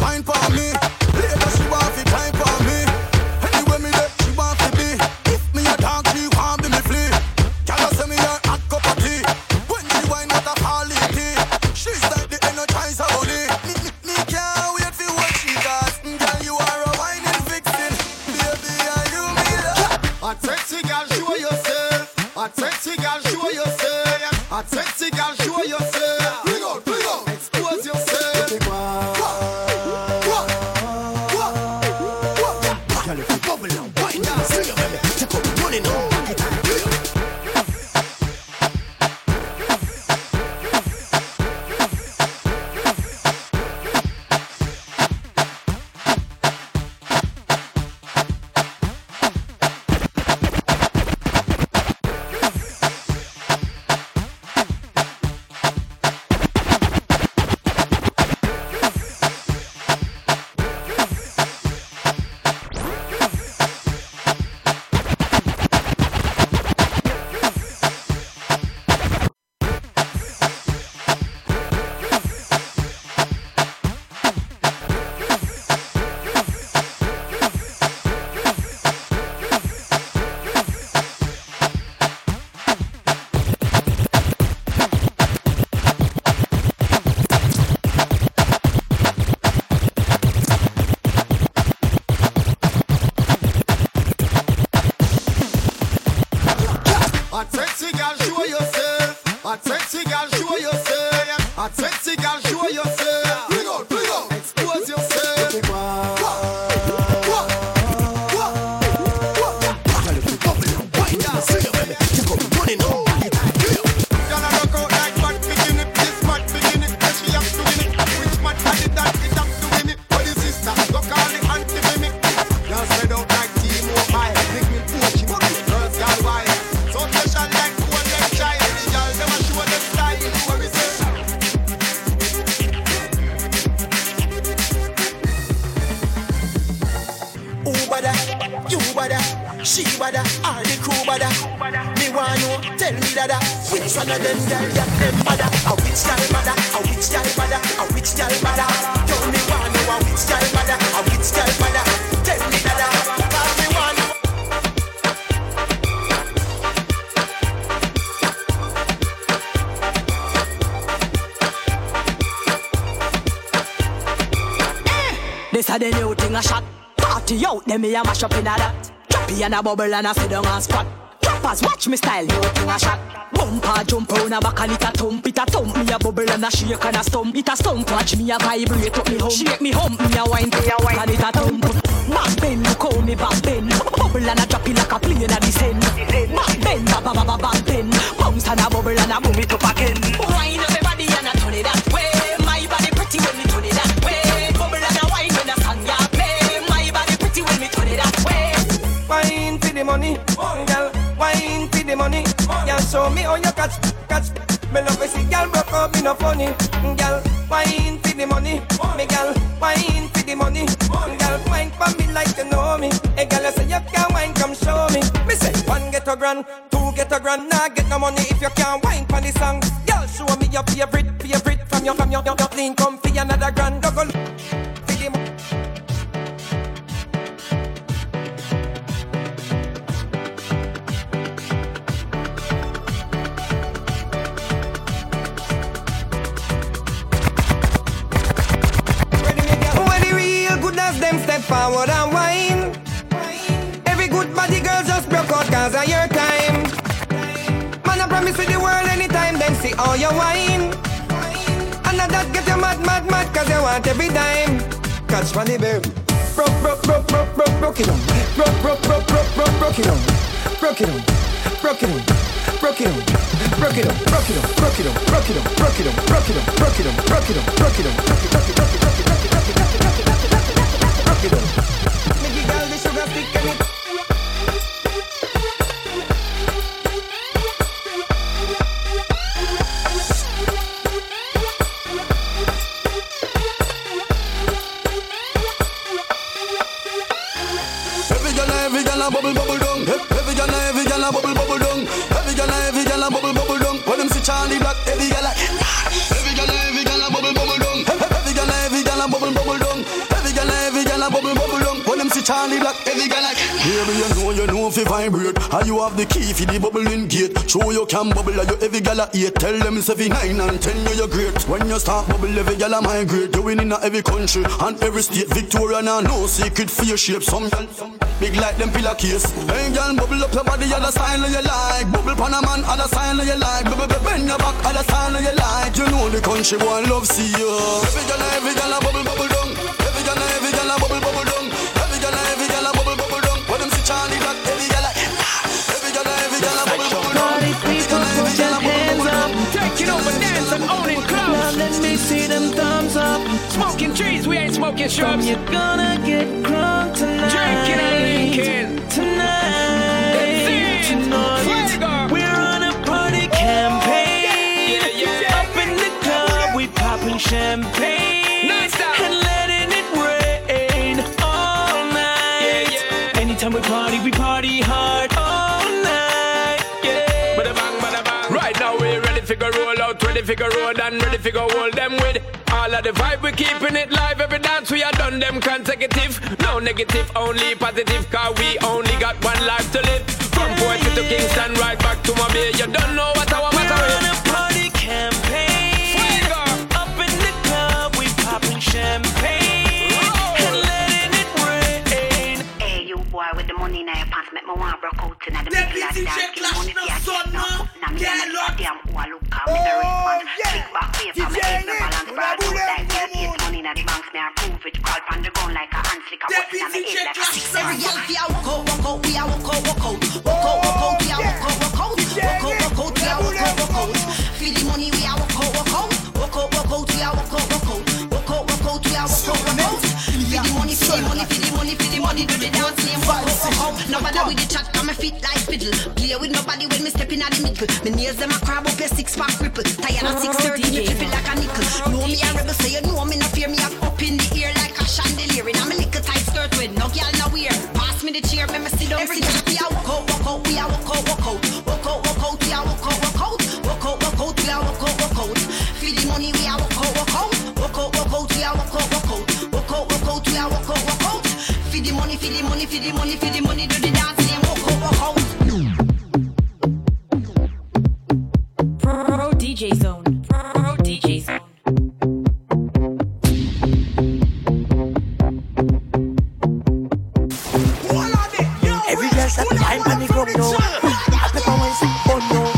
Hot sexy girl, show yourself. Hot sexy girl, show yourself. Bring out, expose yourself. She bada, or the crew bada. Me want know, tell me dada. Which one of them girl that them bada? A which girl bada? A which girl bada? A which girl bada? Tell me want know a which girl bada? A which girl bada? Tell me dada. Call me want know. This a the new thing a shot. Party out, them me a mash up in a that. Choppy and a bubble and a sit down and squat. Choppers watch me style, new thing a shot. Bumper jump on a back and it a thump. It a thump, me a bubble and a shake and a stump. It a stump, watch me a vibrate up me home. Shake me hump, me a wine, and it a thump. Back bend, look how me back bend. Bubble and a drop it like a plane a descend. Back bend, back bend. Bounce and a bubble and a boom it up again. Wine everybody and a turn it that way. My body pretty when me turn it that way. Bubble and a wine when a song ya play. My body pretty when me turn it that way. Wine for the money, girl. Wine for the money, girl. Show me how you catch. Me love to see girl broke up, me no funny, girl. Wine for the money, me girl. Wine for the money, girl. Wine for me like you know me. Hey girl, you say you can't wine, come show me. Me say one get a grand, two get a grand. Nah get no money if you can't wine for the song. Girl, show me your favorite from your clean comfy another grand. Go for the money. Them step forward and whine. Every good body girl just broke out cause of your time. Man, I promise with the world anytime them see all your wine. And that get you mad cause you want every dime. Catch money babe. Broke it on. Broke it on. Broke it on. Broke it on. Broke it on. Broke it on. Broke it on. Broke it on. Broke it on. Broke it on. Broke it on. Broke it on. Broke it on. Broke it on. Broke it on. Make it girl the sugar stick and it. Every girl a bubble down. Every girl a bubble down. Every girl a bubble down. When them see Charlie Black, every girl a every girl a bubble down. Every girl a bubble down. Every girl a bubble down. When them see Charlie Black, every girl a baby, you know if you vibrate. And you have the key for the bubbling gate. Show you can bubble and you every girl a 8. Tell them it's every 9 and 10 you're great. When you start bubble, every girl a migrate. You win in every country and every state. Victoria now no secret for your shape. Some big like them pillar case. Hey girl, bubble up your body, other style you like. Bubble pan a man, other style you like. Bend your back, other style you like. You know the country boy love see you. Every girl a bubble down. Every girl a bubble down. Every girl a bubble down. When them see Charlie Black, every girl a bubble down. Party people, put your hands up. Taking over dance and owning clubs. Now let me see them thumbs up. Smoking trees, we ain't smoking shrubs. You're gonna get crunk tonight. Drinking and drinking. Tonight. We're on a party campaign. Up in the club, we popping champagne. And letting it rain all night. Anytime we party hard all night. Bada bang, bada bang. Right now we ready to go roll out, ready to go roll and ready to go hold them with all of the vibe. We keeping it live. Every dance we are done them consecutive. No negative, only positive. Cause we only got one life to live. From Port to Kingston, right back to my bay. You don't know what I want to We're on a party campaign. Up in the club, we popping champagne. And letting it rain. Hey, you boy with the money in your pants, make me want to broke out in the middle of the dance. Money for your chest, now me damn who I look at. on the ground like a hand flick a button on my head like a six. Every girl fi a walk out, we a walk out, we a walk out, we a walk out, we a walk out. Feel the money, we a walk out, we a walk out, we a walk out. Feel the money, do the dance name, walk out. No bother with the chat, come my feet like fiddle. Play with nobody when me step in at the middle. Me nails them a crab up your 6-pack cripple. Tired at 6:30, me flip it like a nickel. Know me a rebel, so you know me no fear. Me up in the air like a chandelier. In a me little tight skirt with no girl no wear. Pass me the chair, me sit down. Every girl we a walk out, we a walk out, we a walk out, we a walk out. Feel the money, we a walk out, we a walk out, we a walk out. Feel the money, do the dance name, walk out. Pro DJ Zone. Every girl start to wine on the ground now. I pepper wine say fun now.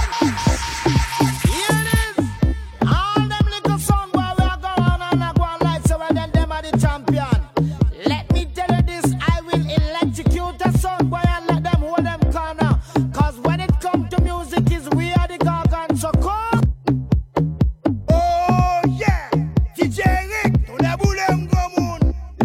All them little song boy we a go on and a go on like so and then them are the champion. Let me tell you this, I will electrocute the song boy and let them hold them corner. Cause when it comes to music is we are the gargan so come. Oh yeah, DJ Rick, to the boulem gomoun.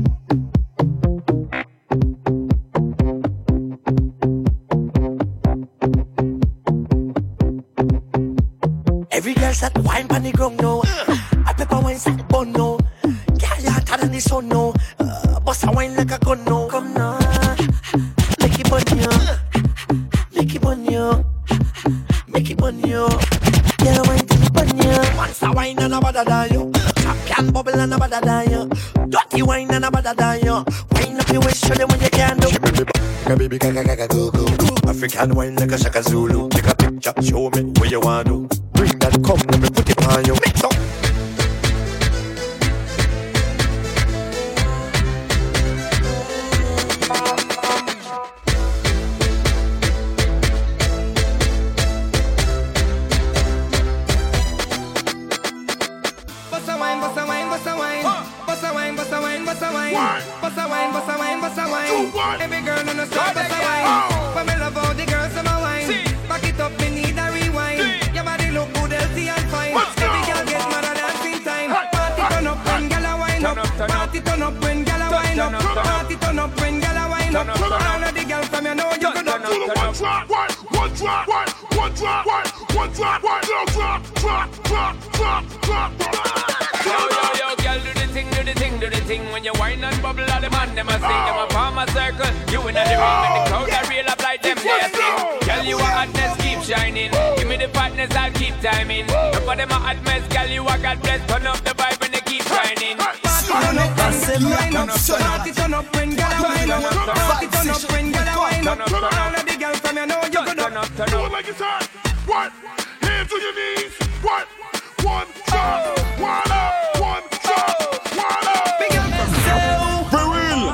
Every girl start to wine on the ground now. I pepper wine say bun now. Girl you hotter than the sun now. Bust a wine like a gun now. Come now, make it bun you, make it bun you, make it bun you. Girl wine till it bun you. Monster wine and a bada than you. Champion bubble and a bada than you. Dirty wine and a bada than you. Wine up your waist, show them what you can do. Baby, go go. African wine like a Shaka Zulu. Take a picture, show me what you want to. Bring that come, let me put it on you. Mix up. Bossa wine, bossa wine, bossa wine. Bossa wine, bossa wine, bossa wine. Bossa wine, bossa wine, bossa wine. Every girl on the street bossa wine. But me love all the girls on my wine. Back it up, me need a rewind. Your body look good, healthy and fine. Every girl get mad at dancing time. Party turn up when gyal a wine up. Party turn up when gyal a wine up. Party turn up when gyal a wine up. All of the girls from you know you could up. Yo, girl, do the thing. When you whine and bubble, all the man, them a sing. Them a form a circle. You in the ring, and the crowd a reel up like them, they a sing. Girl, you a hotness, keep shining. Give me the fatness, I'll keep timing. Look for them a hot mess, girl, you a God bless. Turn up the vibe and they keep shining. Turn up, party turn up when gyal a wine up. Party turn up when gyal a wine up. All of the girls from you know you could up. Do it like it's hot. What? Hands on your knees. What? One drop. One up. One drop. One up. For real.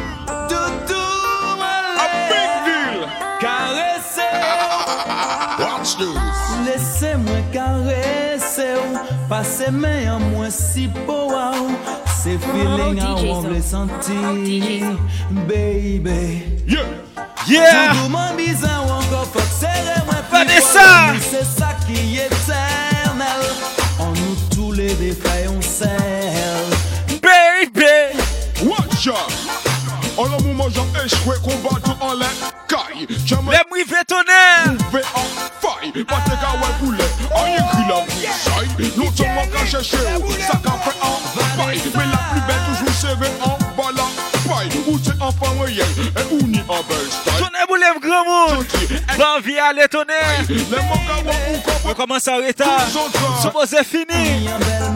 A big deal. Watch this. Laissez-moi caresser ou passer mes en moi si beau c'est feeling I want les sentir baby Yeah. tout monde bizarre ou encore faut serrer moi Vanessa. c'est ça qui est éternel en nous tous les défaits on serre baby Watch out. En le moment j'ai échoué combattre en l'air. Caille. Les mouillés tonnerre. Mouvé en faille. Pas de gars ouais poulet. On y écrit la bousaille. L'autre seulement qu'à chercher. Ça qu'a fait en faille. Mais la plus belle toujours serrée en bas la paille. Où c'est enfant moyen. Et où ni en belle style. Tonnerre vous lève grand monde. Van vie à les tonnerre. Les mangas ou on commence en retard. Supposé fini.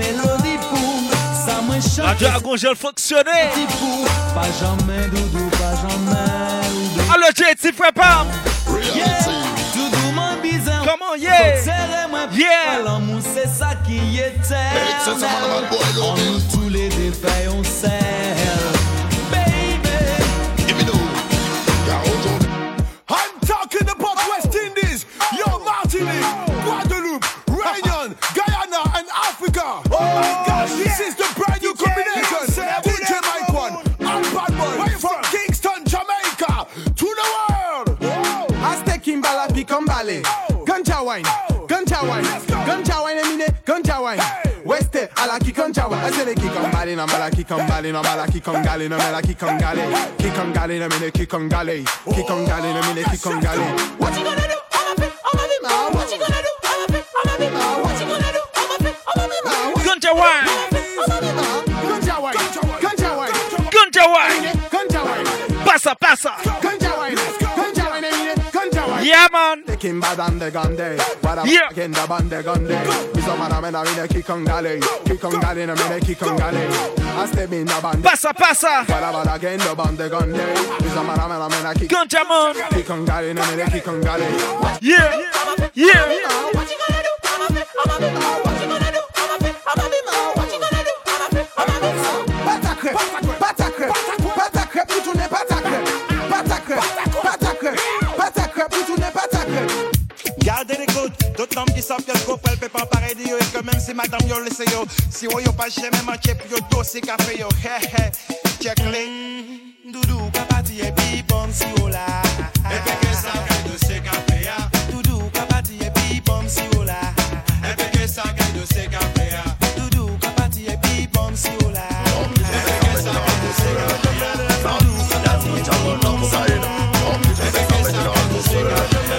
La dragon gel fonctionner. Pas jamais doudou, pas jamais doudou. Alors JT prépare. Doudou mon bizarre. Comment yeah? Yeah. L'amour c'est ça qui est éternel. En nous tous les défaits on serre. Baby. Give me those. I'm talking about West Indies. Yo, Martinique, Guadeloupe, Réunion, Guyana, and Africa. Oh my gosh, this is the brand new combination. DJ Mike One, Valley. Ganja wine, ganja wine, ganja wine, emine, ganja wine. West à la Kikanja wine. I say the Kikambali, no mala Kikambali, no mala Kikangali, no mala Kikangali. Kikangali, no mine Kikangali. Kikangali, no mine Kikangali. What you gonna do? What you gonna do? What you gonna do? Ganja wine. Ganja wine, ganja wine, Ganja wine. ganja wine. Passa, passa. Ganja wine, ganja wine, ganja wine. Yeah, man. Taking bad on the gun day. Yeah. Again the band the gun day. Is a man I mean a kick on galley. Kick on galley, I mean a kick on galley. I step in the band. Passa, passa. Whatever again the band the gun day. Is a man I mean a kick. Ganja man. Kick on galley, I mean a kick on galley. Yeah. Yeah. What you gonna do? What you gonna do? What you gonna do? Pata crêpe, pata crêpe, pata crêpe, tu tournes pata crêpe, pata crêpe, pata crêpe, pata crêpe, tu tournes pata crêpe. Gardez l'écoute, d'autres hommes qui savent que le couple elle peut pas pareil de yo. Et que même si madame yo laissé yo, si yo pas jamais manqué pour yo dossier café yo. Hé hé, check les Doudou, kapati et bipom si yo la. Et puis que ça gagne dossier café ya. Doudou, kapati et bipom si yo la. Et puis que ça gagne dossier café ya. Doudou, kapati et bipom si yo la. Et puis que ça gagne dossier café ya. Doudou, kapati et bipom si yo la. Et puis que ça gagne dossier café ya.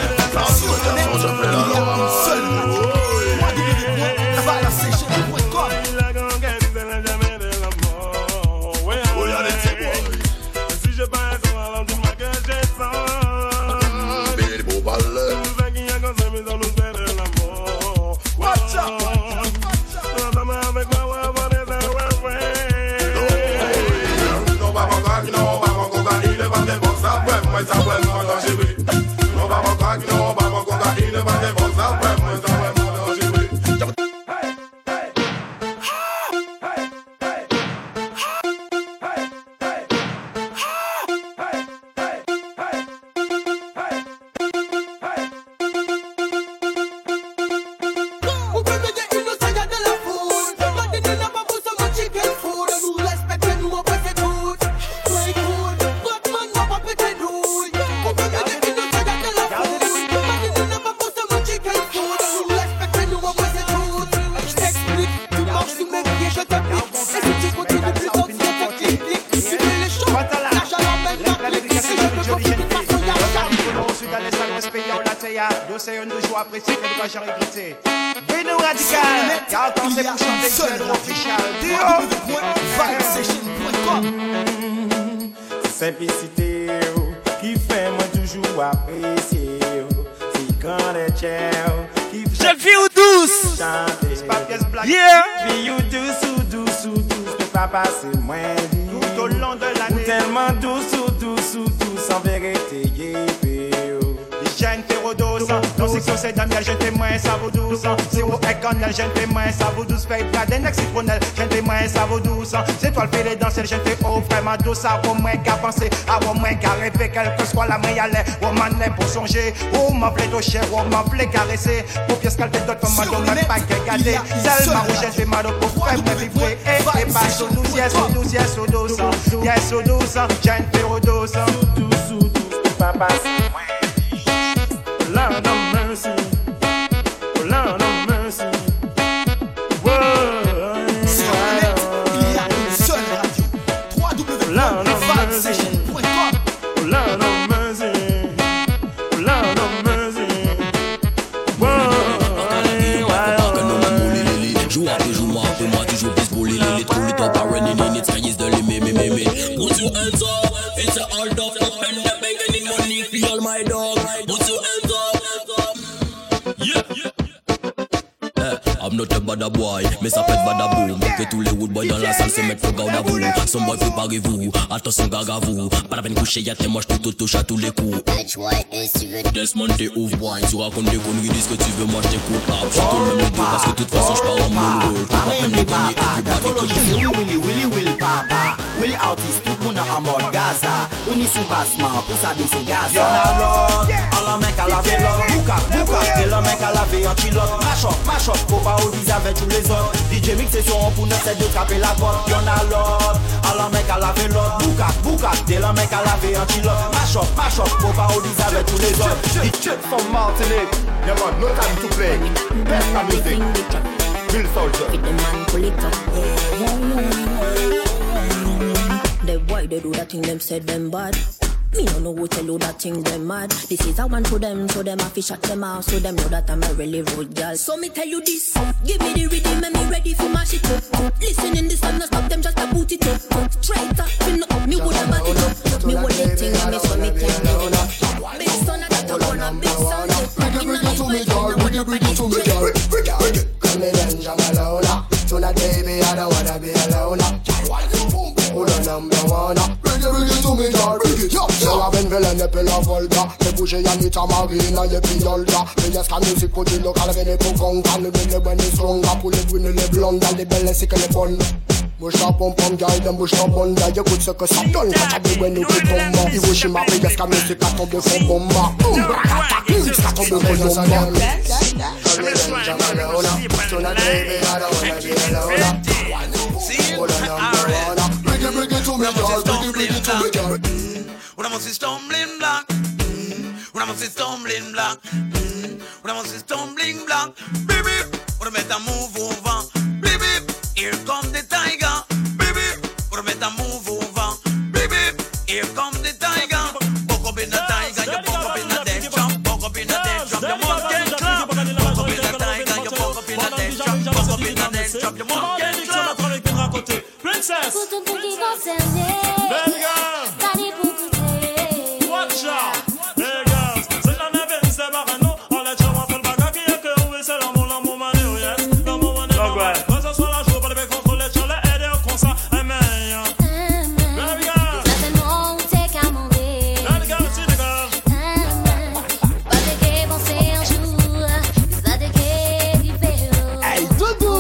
Simplicité qui fait moi toujours apprécier. C'est quand les chèvres qui fait. Jeune fille ou douce? Yeah! Fille ou douce ou douce ou douce, peut pas passer moins vite. Tout au long de l'année. Tellement douce ou douce ou douce, en vérité, yeah. Jeune férodose, non c'est que c'est d'amis, jeune témoin, ça vaut douce. Si vous êtes connel, jeune témoin, ça vaut douce. Fait pas d'un ex-citronel, jeune témoin, ça vaut douce. C'est toi le fait les danser, jeune fais oh vraiment douce. À vos moins qu'à penser, à vos moins qu'à rêver, quelle que soit la main à l'air. Oh man, pour songer, oh m'en plaît toucher, oh m'en plaît caresser. Pour pièce qu'elle fait d'autres femmes, même pas qu'elle garder. Seulement où j'ai fait mal au pauvre, frère, me vibrer. Et pas sous douce, yes, sous douce, yes, sous douce. Yes, sous douce, jeune férodose. Sous douce, papa. Lord of mercy, oh Lord of mercy. Whoa, il y a une seule radio, www.vibe-session.com. Oh Lord of mercy, oh Lord of mercy. Joue après joue, moi après moi, toujours plus pour les trous, les top are running in it, sky is the limit, Put your hands up, it's a hold up, and the bank any money, feel my dog. Put your hands up. I'm not a bad boy, mais ça fait bad boom. Que tous les wood boys dans la salle se mettent pour garder à vous. Son boy préparez-vous, attention gaga vous. Pas la peine coucher, y'a tes moches, tout touche à tous les coups. Desmond t'es ouf boy, tu racontes des conneries, dis ce que tu veux, moi je t'écoute. Je suis tout le même deux parce que de toute façon je pars en mono. Je peux pas même les gagner, everybody Willy papa, Willy artiste, tout le monde en mode Gaza. On y sous bassement, pour ça c'est Gaza. Y'en a l'autre, à la mec à la vélo, bouka, t'es le mec à la veille en chilote. Mash up, faut pas au visage. avec tous les autres. DJ Mix c'est sur on pour nous c'est de taper la porte. Y'en a l'autre, alors mec à laver l'autre. Boucac, t'es le mec à laver un kilo. Mash up, faut parodiser avec tous les autres. DJ from Martinique, y'a man, no time to play. Best of music, Real Soldier. With the man pull it up, the boy they do that thing them said them bad. Me no know who tell you that thing them mad. This is a one for them, so them have to shut them out, so them know that I'm a really rude girl. So me tell you this, give me the rhythm and me ready for mash it up. Listen in this and no stop them just to boot it up. Straight up, me woulda back it up. Me would let thing and me so me can do it up. Big son, I got to run a big son. Bring it to me, girl. Bring it to me, girl. Call me Benja Malona. Tonight, baby, I don't wanna be alone. Who the number one? Bring it to me, girl. Bring it. So I've been villain, the pillar volta. Me push it and it's a marina, you be older. Me just can music put it local, when it put on. Can you believe when it's stronger? Pull it when it's blonde, and the belly sick and the bun. Bush up, pump, girl, them bush up under. You could suck a stop, don't catch a big when you put bomba. You wish him up, me just can music cut up the phone bomba. Music cut up the phone bomba. Tonight, baby, I don't wanna be alone. Who the number one? Bring it to me, girl. Bring it to me, girl. When I'm on this stumbling block, when I'm on this stumbling block, when I'm on this stumbling block, baby, when I make a move over, baby, here comes the tiger, baby, when I make a move over, baby, here comes the tiger. Buck up in the tiger, you buck up in the dead jump, buck up in the dead jump, you must get club. Buck up in the tiger, you buck up in the dead jump, buck up in the dead jump, you must get club. Princess, pour tout qui concerné, belle girl, Dani pour goûter. Watch out, belle girls, c'est la neve, c'est barano. On les chama fait le bagage qui est que oui, c'est l'amour mané, yes, l'amour mané. Que ce soit la joie, pas de contrôler, tu l'as aidé comme ça, amen. Belle girl, ça c'est non, t'es qu'à monter. Belle girl, c'est des girls. Pas de qu'est penser un jour, ça de qu'est différent. Hey, Doudou!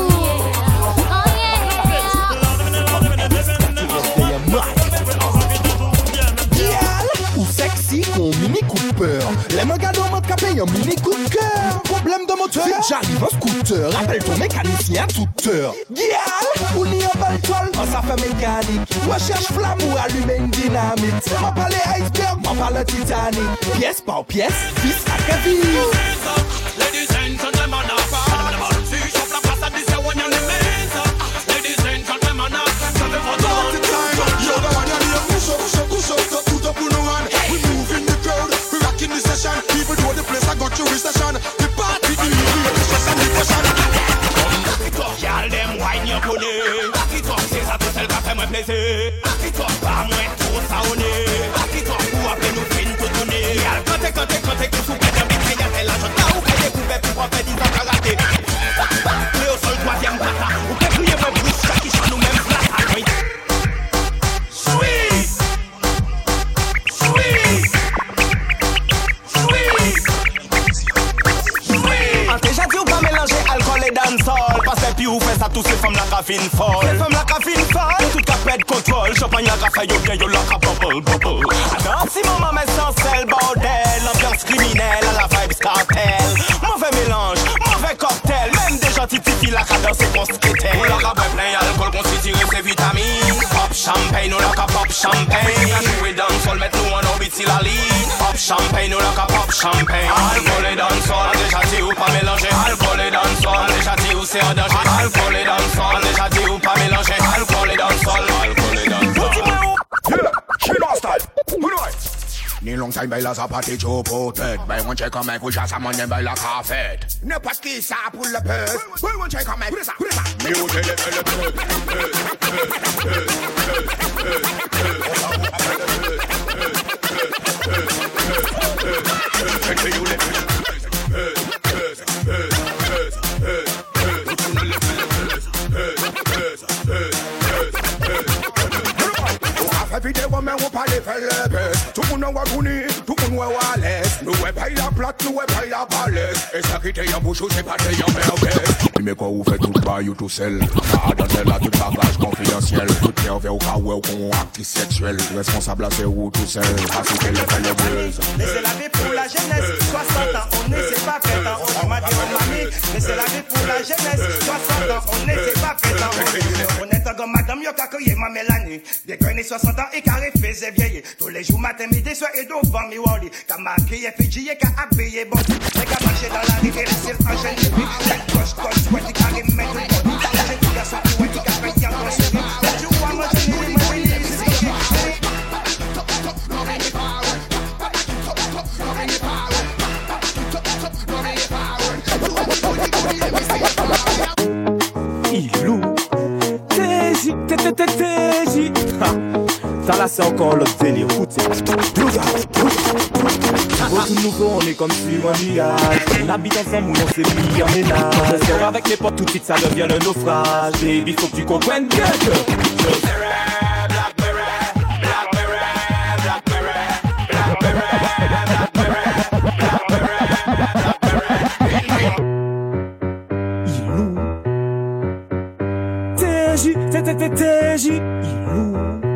Ou sexy con Mini Cooper. Les mangas d'homme capé un mini coup de cœur. Problème de moteur, j'arrive en scooter. Rappelle ton mécanicien à toute heure. Girl, ou ni un baltol, en ça fait mécanique. Recherche flamme ou allumer une dynamite. M'en parle iceberg, m'en parle Titanic. Pièce par pièce, fils à Kevin. Ladies and gentlemen, even though the place I got you recession, the party the stress and depression. Y'all them wine your pony. Back it up, c'est ça tout seul qui fait moi plaisir. Back it up, pas moins trop saoné. Back it up, pour appeler nous fin tout tourner. Y'all quand t'es qui sous pète un bit, y'a tel agent là, ou qu'elle découvert pour faire 10 ans karaté. Léo sol troisième plata, ou qu'elle crier moi bouche, chaque chan nous même plata. Sweet, sweet. Déjà dit ou pas mélanger alcool et dancehall. Parce que puis ou fait ça tous ces femmes la cafine folle. Ces femmes la cafine folle. Tout cas pète contrôle. Champagne la café yo bien yo la bubble bubble. Alors si mon maman sans sel bordel. L'ambiance criminelle à la vibes cartel. Mauvais mélange, mauvais cocktail. Même des gentils filles la cadence c'est qu'on se quitte. Ou la caboué plein alcool qu'on s'y tire ses vitamines. Pop champagne ou la cap pop champagne. La jouer dancehall mettre nous en orbite si la ligne. Pop champagne ou la cap pop champagne. Alcool et dancehall déjà dit ou pas mélanger. Alcool et dancehall, déjà dit où c'est en danger. Alcool et dancehall, déjà dit où pas mélanger. Alcool et dancehall, alcool et dancehall. Yeah, she lost style. Who do I? Ni long time baila sa party Joe Potet. Bay one check on my push a man dem baila café. Ne pas qui ça pour le pèse. Bay one check on my push ça. Mi ou tele tele every day when me up a level best. Tout moun wa gouni, tout moun wa wales. Nous ouais paye la plate, nous ouais paye la balèze. Et ça qui te y'a bouchou, c'est pas te y'a merveille. Mais quoi ou fait tout bas, you tout seul. Ah, dans celle-là, tout bagage confidentiel. Tout nerveux au cas où qu'on acte sexuel. Responsable, c'est où tout seul. Ah, c'est qu'elle fait le buzz. Laissez la vie pour la jeunesse. 60 ans, on ne sait pas fait. On m'a dit, on m'a mis. Mais c'est la vie pour la jeunesse. 60 ans, on n'était pas présent. On est encore madame, yo kakoye ma Mélanie. Des grenés 60 ans et carré faisait vieillir. Tous les jours, matin, midi, soir et devant mi wali. Kamaki et Fidji et ka habillé bon. Les gars marchaient dans la rue et laissaient l'enchaîner. Les coche, ouais, tu carré mettre le bon. J'ai tout garçon, ouais, tu carré qui a ton série. Les jours, moi, je n'ai rien, moi, Ilou, TJ, ça là c'est encore l'autre délire, écoutez. Pour tout nouveau, on est comme si on y a. On habite ensemble ou on s'est mis en ménage. On sort avec les potes, tout de suite ça devient le naufrage. Baby, faut que tu comprennes bien que TJ, Ilou.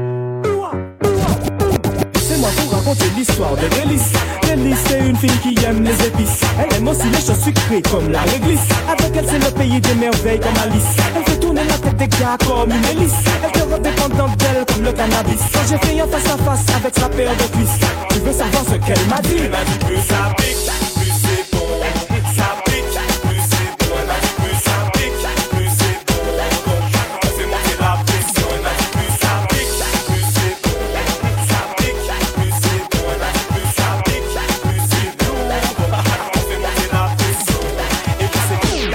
C'est moi pour raconter l'histoire de Délice. Délice, c'est une fille qui aime les épices. Elle aime aussi les choses sucrées comme la réglisse. Avec elle, c'est le pays des merveilles comme Alice. Elle fait tourner la tête des gars comme une hélice. Elle te rend dépendante d'elle comme le cannabis. Quand j'ai fait un face à face avec sa paire de cuisses, tu veux savoir ce qu'elle m'a dit? Elle m'a dit plus ça pique, plus c'est bon. Ça pique, plus c'est bon. Elle m'a dit plus ça pique, plus c'est bon. Donc, fais monter la pression. Elle m'a dit plus ça pique, plus c'est bon. Ça pique, plus c'est bon. Elle m'a dit plus ça pique, plus c'est bon. Donc, fais monter la pression. Et puis c'est cool.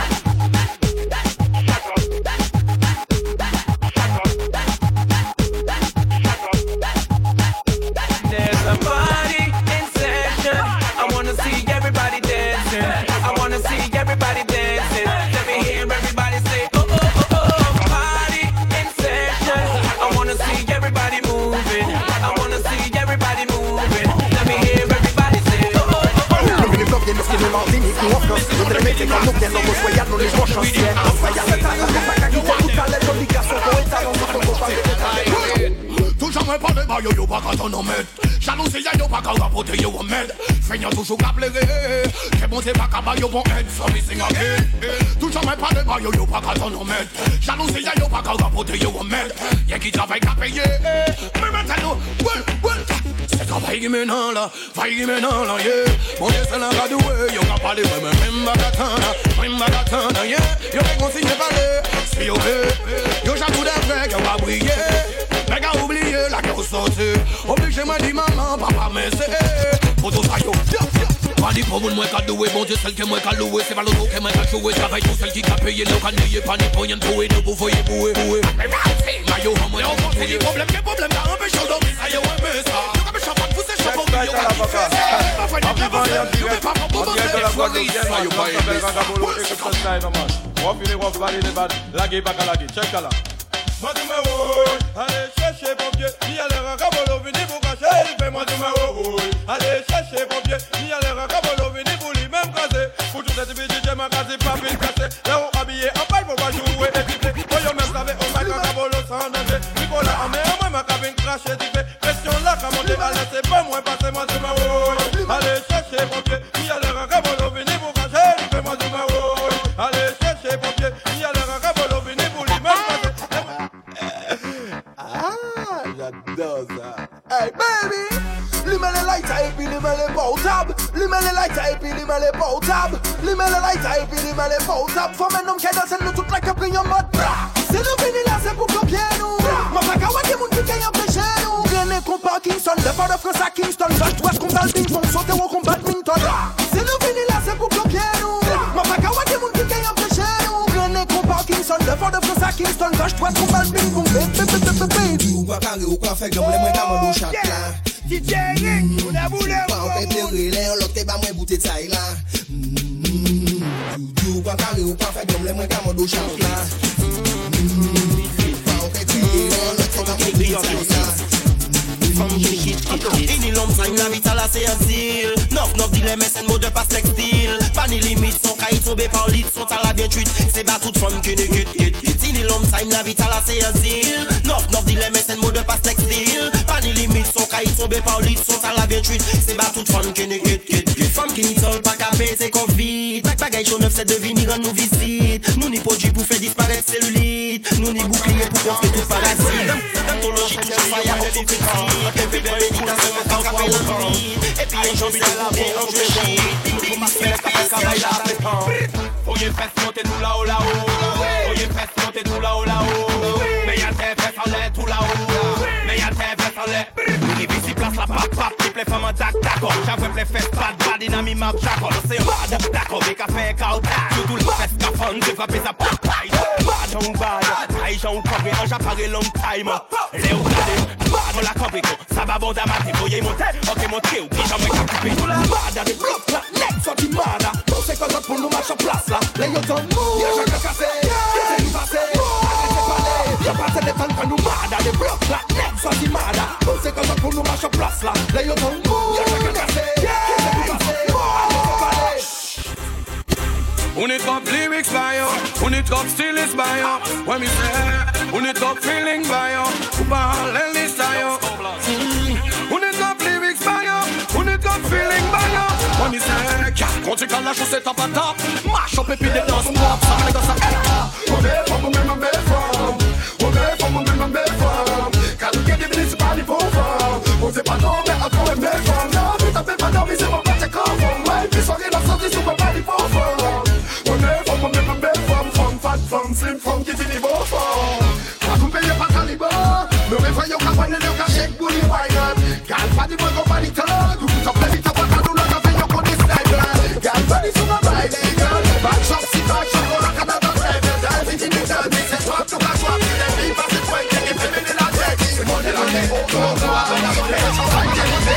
There's a party in session. I wanna see everybody dancing. I wanna see everybody dancing. Let me hear everybody say, oh, oh, oh, oh. Party in session. I wanna see everybody moving. I wanna see everybody moving. Let me hear everybody say, oh, oh, oh, oh. Les blocs, nos films martiniques, nous en France. Nous les mettons comme nous, bien nos voyages, nous les jouons chanciers. Toujours me parle de yo pas quand on en met. Jalousie yo pas quand rapporter yo en med. Feignant toujours qu'à pleurer. Que bon c'est pas qu'à yo bon aide. So missing again. Toujours me parle de yo pas quand on en met. Jalousie yo pas quand rapporter yo en med. Y'a qui travaille qu'à payer. Mais maintenant, ouais. C'est travail qui maintenant là. Vaille qui maintenant là, yeah. Mon Dieu c'est la gadoué. Yo qu'à parler même bagatana, yeah. Yo qu'à consigner parler. C'est yo yo j'avoue d'avec, yo va briller. Les gars oubliez la gueule sortie. Obligé m'a dit maman, papa mais c'est pour tout ça yo. Pas dit pour moi qu'à doué, bon Dieu celle que moi qu'à louer. C'est pas l'auto que moi qu'à jouer. Travaille tout celle qui a payé le cannier. Pas ni pour rien trouver, ne vous voyez bouer. Mais maillot en moi, on pense des problèmes, des problèmes. T'as un peu chaud donc ça y est, ouais mais ça. Yo comme champagne, vous c'est chaud pour moi. Yo comme fait ça. Pas fait de bosser. Yo mais pas pour bosser. Yo pas Check là. Moi tu me rouilles, allez chercher pompier. Il y a l'air à cabolo, vini pour cacher. Fais-moi tu me rouilles, allez chercher pompier. Il y a l'air à cabolo, vini pour lui même casser. Pour tout cette vie, j'ai ma case, pas pile cassé. Là où habillé en paille pour pas jouer et triper. Voyons même savez, on m'a qu'à cabolo sans danger. Nicolas, en mer, moi ma cabine craché, triper. Pression là, qu'à monter, allez c'est pas moins passé. Moi tu me rouilles, allez chercher pompier. Il y a l'air à cabolo, vini pour cacher. Fais-moi tu me rouilles, allez chercher pompier. Il y a l'air à cabolo, vini pour lui même casser. J'adore ça. Hey baby, lui-même les lights et puis lui-même les portables. Lui-même les lights et puis lui-même les portables. Lui-même les lights et puis lui-même les portables. Faut un homme qui danse nous toute la capri en mode bra. C'est nous venus là, c'est pour bloquer nous. Ma fac a des moun qui gagne empêcher nous. Grené qu'on Parkinson, le fort de France à Kingston. West qu'on bat le ping-pong, sauter au combat badminton. C'est nous venus là, c'est pour bloquer nous. Ma fac a des moun qui gagne empêcher nous. Grené qu'on Parkinson, le fort de France à Kingston. West qu'on bat le ping-pong, baby. Ou quoi carré ou quoi fait que j'aime les camots au chaque là. DJ Rick, on a voulu. Pas on fait pleurer, on l'autre pas moins bouté de ça là. Ou quoi carré ou quoi fait que j'aime les camots au chaque là. Pas on fait crier, on l'autre pas moins bouté de ça là. Ini l'homme ça la vite à la CSIL 9-9 dit les mécènes mot de passe textile. Pas ni limite, son cahier tombé par lit, son à la bien truite. C'est pas toute femme qui ne quitte. Ini l'homme ça la vite à la CSIL 9-9 dit les mécènes mot de passe textile. Pas ni limite, son cahier tombé par lit, son à la bien truite. C'est pas toute femme qui ne quitte. Femme qui ne sol pas capé, c'est Covid. Back bagaille chaud neuf, c'est de venir rendre nous visite. Nous ni produits pour faire disparaître cellulite. Nous ni bouclier pour construire tout parasite. D'ontologie tout le fire, on faut critique. Et puis de méditation, on s'en rappelle l'envie. Et puis un jour, c'est la vie, on fait chier. Nous masquer la café, travail là, c'est temps. Faut y faire monter nous là-haut, là-haut. Faut y faire monter nous là-haut, là-haut. Mais y'a tes fesses en l'air, tout là-haut. Mais y'a tes fesses en l'air. Nous ici place la pape, pape, type les femmes en tac, d'accord. J'avoue les fesses, pas de bad, dynamique, map, j'accorde. C'est un bad, d'accord, des cafés, caoutag. Tout le fesses, cafon, j'ai frappé sa pape. Bad, on bad. Aïe, j'en couvre, j'apparais long time. Léo, bad, on la couvre, ça va bon d'amater. Voyez monter, ok, monter, ou puis j'en mets qu'à couper. Tout la bad, des blocs, là, next, sorti mad. On sait qu'on pour nous marcher en place, là. Les yeux dans nous, y'a chacun cassé. Y'a nous passé, arrêtez parler. Y'a pas de temps quand nous mad, des blocs, là, next, sorti mad. On sait qu'on pour nous marcher en place, là. Les yeux dans nous, y'a chacun cassé. Y'a nous passé, arrêtez parler. On it up lyrics by you, on it up still is by you. When me say, on it up feeling by you, ball and this by you. On it up lyrics by you, on it up feeling by you. When me say, cat, quand tu cales la chaussette à patate, mash up et puis des danses pop, ça me négocie ça. On est from, on est my best from. On est from, on est my best from. Quand nous gagnons, c'est pas les pauvres. On sait pas non, mais à toi, on est from. Non, tu t'appelles pas non, mais c'est mon parti comme from. Ouais, puis soirée, la sortie, c'est pas les pauvres. From slim from qui dit beau fort. Quand vous payez pas calibre, me réveillons qu'à prendre le cachet pour les wine. Gal pas du bon compagniteur, tout ça plaît vite à pas nous la café yo qu'on est sniper. Gal pas du sous ma baille les gars. Back shop si back shop on a Canada driver. Gal vite ni ça dit c'est toi tout la joie qui les vies parce que toi qui est fait mener la tête. C'est mon de la tête. On doit avoir la monnaie. On va y aller.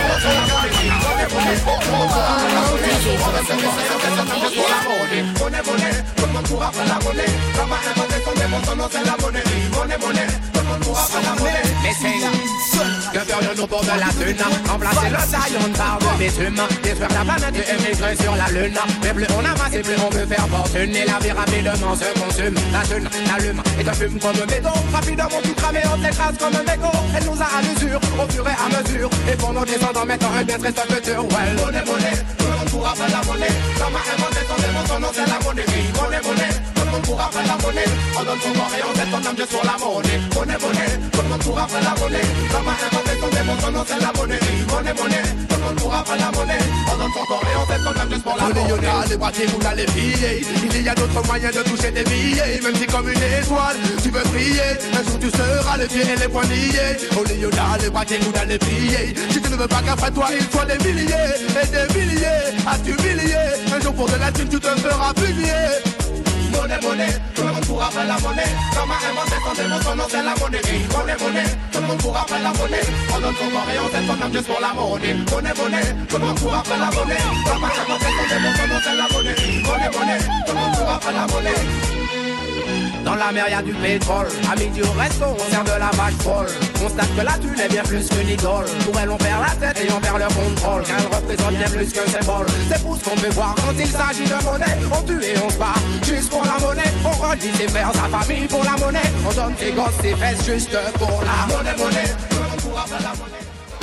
Monnaie, tout le monde pourra faire la monnaie. Comme à inventé son démon, son nom c'est la monnaie. Monnaie, tout le monde pourra faire la monnaie. Mais c'est que ferions-nous pour de la thune? Remplacer le saillon par de bitume, détruire la planète et émigrer sur la lune. Mais plus on amasse et plus on peut faire fortune. Et la vie rapidement se consume. La thune, l'allume et te fume comme un béton. Rapidement tout cramé, on t'écrase comme un mégot. Elle nous a à l'usure, au fur et à mesure. Et pour nos descendants, maintenant un bien triste futur. Well, monnaie, tout le monde pourra faire la monnaie. Comme à inventé son démon, son nom c'est la monnaie. Monnaie, tout le monde pourra faire la monnaie. On donne son corps et on jette son âme juste pour la monnaie. Monnaie, tout le monde pourra faire la monnaie. Comme à inventé son démon, son nom c'est la monnaie. Monnaie, tout le monde pourra faire la monnaie. On donne son corps et on jette son âme juste pour la monnaie. On y a les boîtiers ou les billets. Il y a d'autres moyens de toucher des billets. Même si comme une étoile, tu veux briller. Un jour tu seras les pieds et les poings liés. On y a les boîtiers ou les billets. Si tu ne veux pas qu'après toi il faut des milliers et des milliers à t'humilier. Un jour pour de la thune tu te feras publier. Monnaie, tout le monde pourra faire la monnaie. Comme à inventé son démon, son nom c'est la monnaie. Monnaie, tout le monde pourra faire la monnaie. On donne son corps et on jette son âme juste pour la monnaie. Monnaie, tout le monde pourra faire la monnaie. Comme à inventé son démon, son nom c'est la monnaie. Monnaie, tout le monde pourra faire la monnaie. dans la mer y'a du pétrole. À midi au resto, on sert de la vache folle. Constate que la thune est bien plus qu'une idole. Pour elle on perd la tête et on perd le contrôle. Car elle représente bien plus qu'un symbole. C'est pour ce qu'on peut voir quand il s'agit de monnaie. On tue et on se bat juste pour la monnaie. On redit ses frères, sa famille pour la monnaie. On donne ses gosses, ses fesses juste pour la monnaie. On pourra faire la monnaie.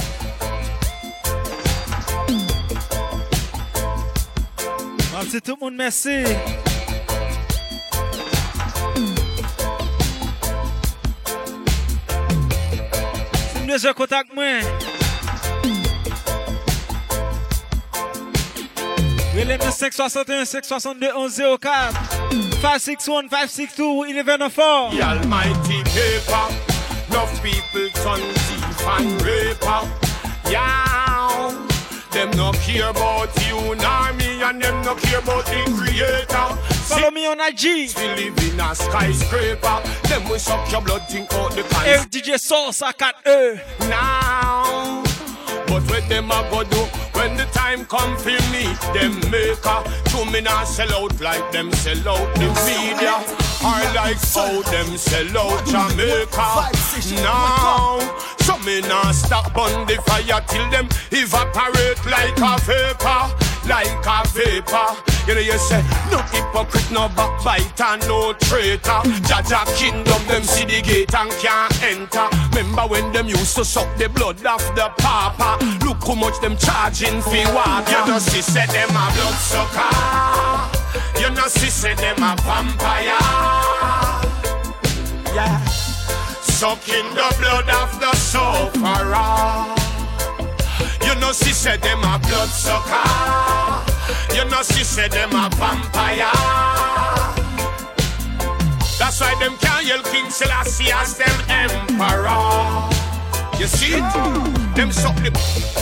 Merci tout le monde, merci. C'est mieux, je contacte moi. Relève 561 562 1104 561 562 1104. The almighty paper, enough people turn thief and raper. Yeah, them no care about you nor me, and them no care about the creator. Follow me on IG. Still live in a skyscraper. Them will suck your blood, think out the pants. Hey, DJ Sauce, I got now. But what them a go do when the time come for me? Them maker, to me not sell out like them sell out the media, or like how them sell out Jamaica. Now, so me not stop on the fire till them evaporate like a vapor, like a vapor. You know you say, no hypocrite, no backbiter, no traitor. Jaja kingdom, them see the gate and can't enter. Remember when them used to suck the blood off the papa? Look how much them charging for water. You know she said them a blood sucker. You know, she said them a vampire. Yeah. Sucking the blood of the sufferer. You know, she said them a blood sucker. You know, she said them a vampire. That's why them can't yell King Selassie as them emperor. You see it? Them suck the...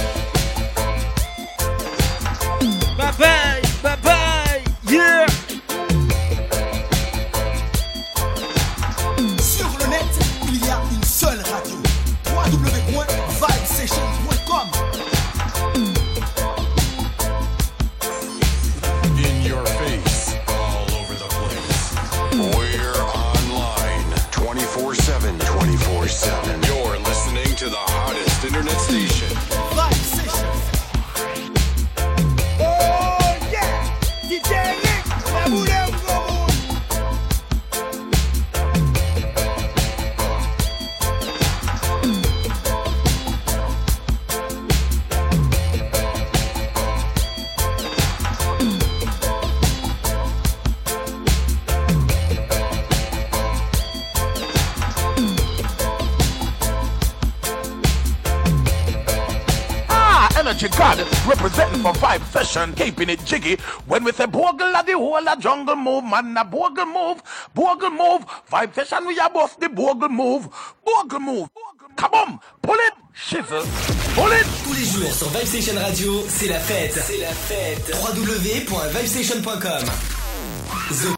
Bye-bye, bye-bye, yeah. Sur le net, il y a une seule radio. www.vibesession.com. In your face, all over the place. We're online 24/7. 24/7. You're listening to the hottest internet station. Vibe Session. Oh yeah, DJ Nick, la boule au gros. Energy God representing for Vibe Session, keeping it jiggy. When we say bogle at the whole a jungle move, man, a bogle move, Vibe Session we are both the bogle move. Come on, pull it, shizzle, pull it. Tous les jours sur Vibe Session Radio, c'est la fête. C'est la fête. www.vibesession.com.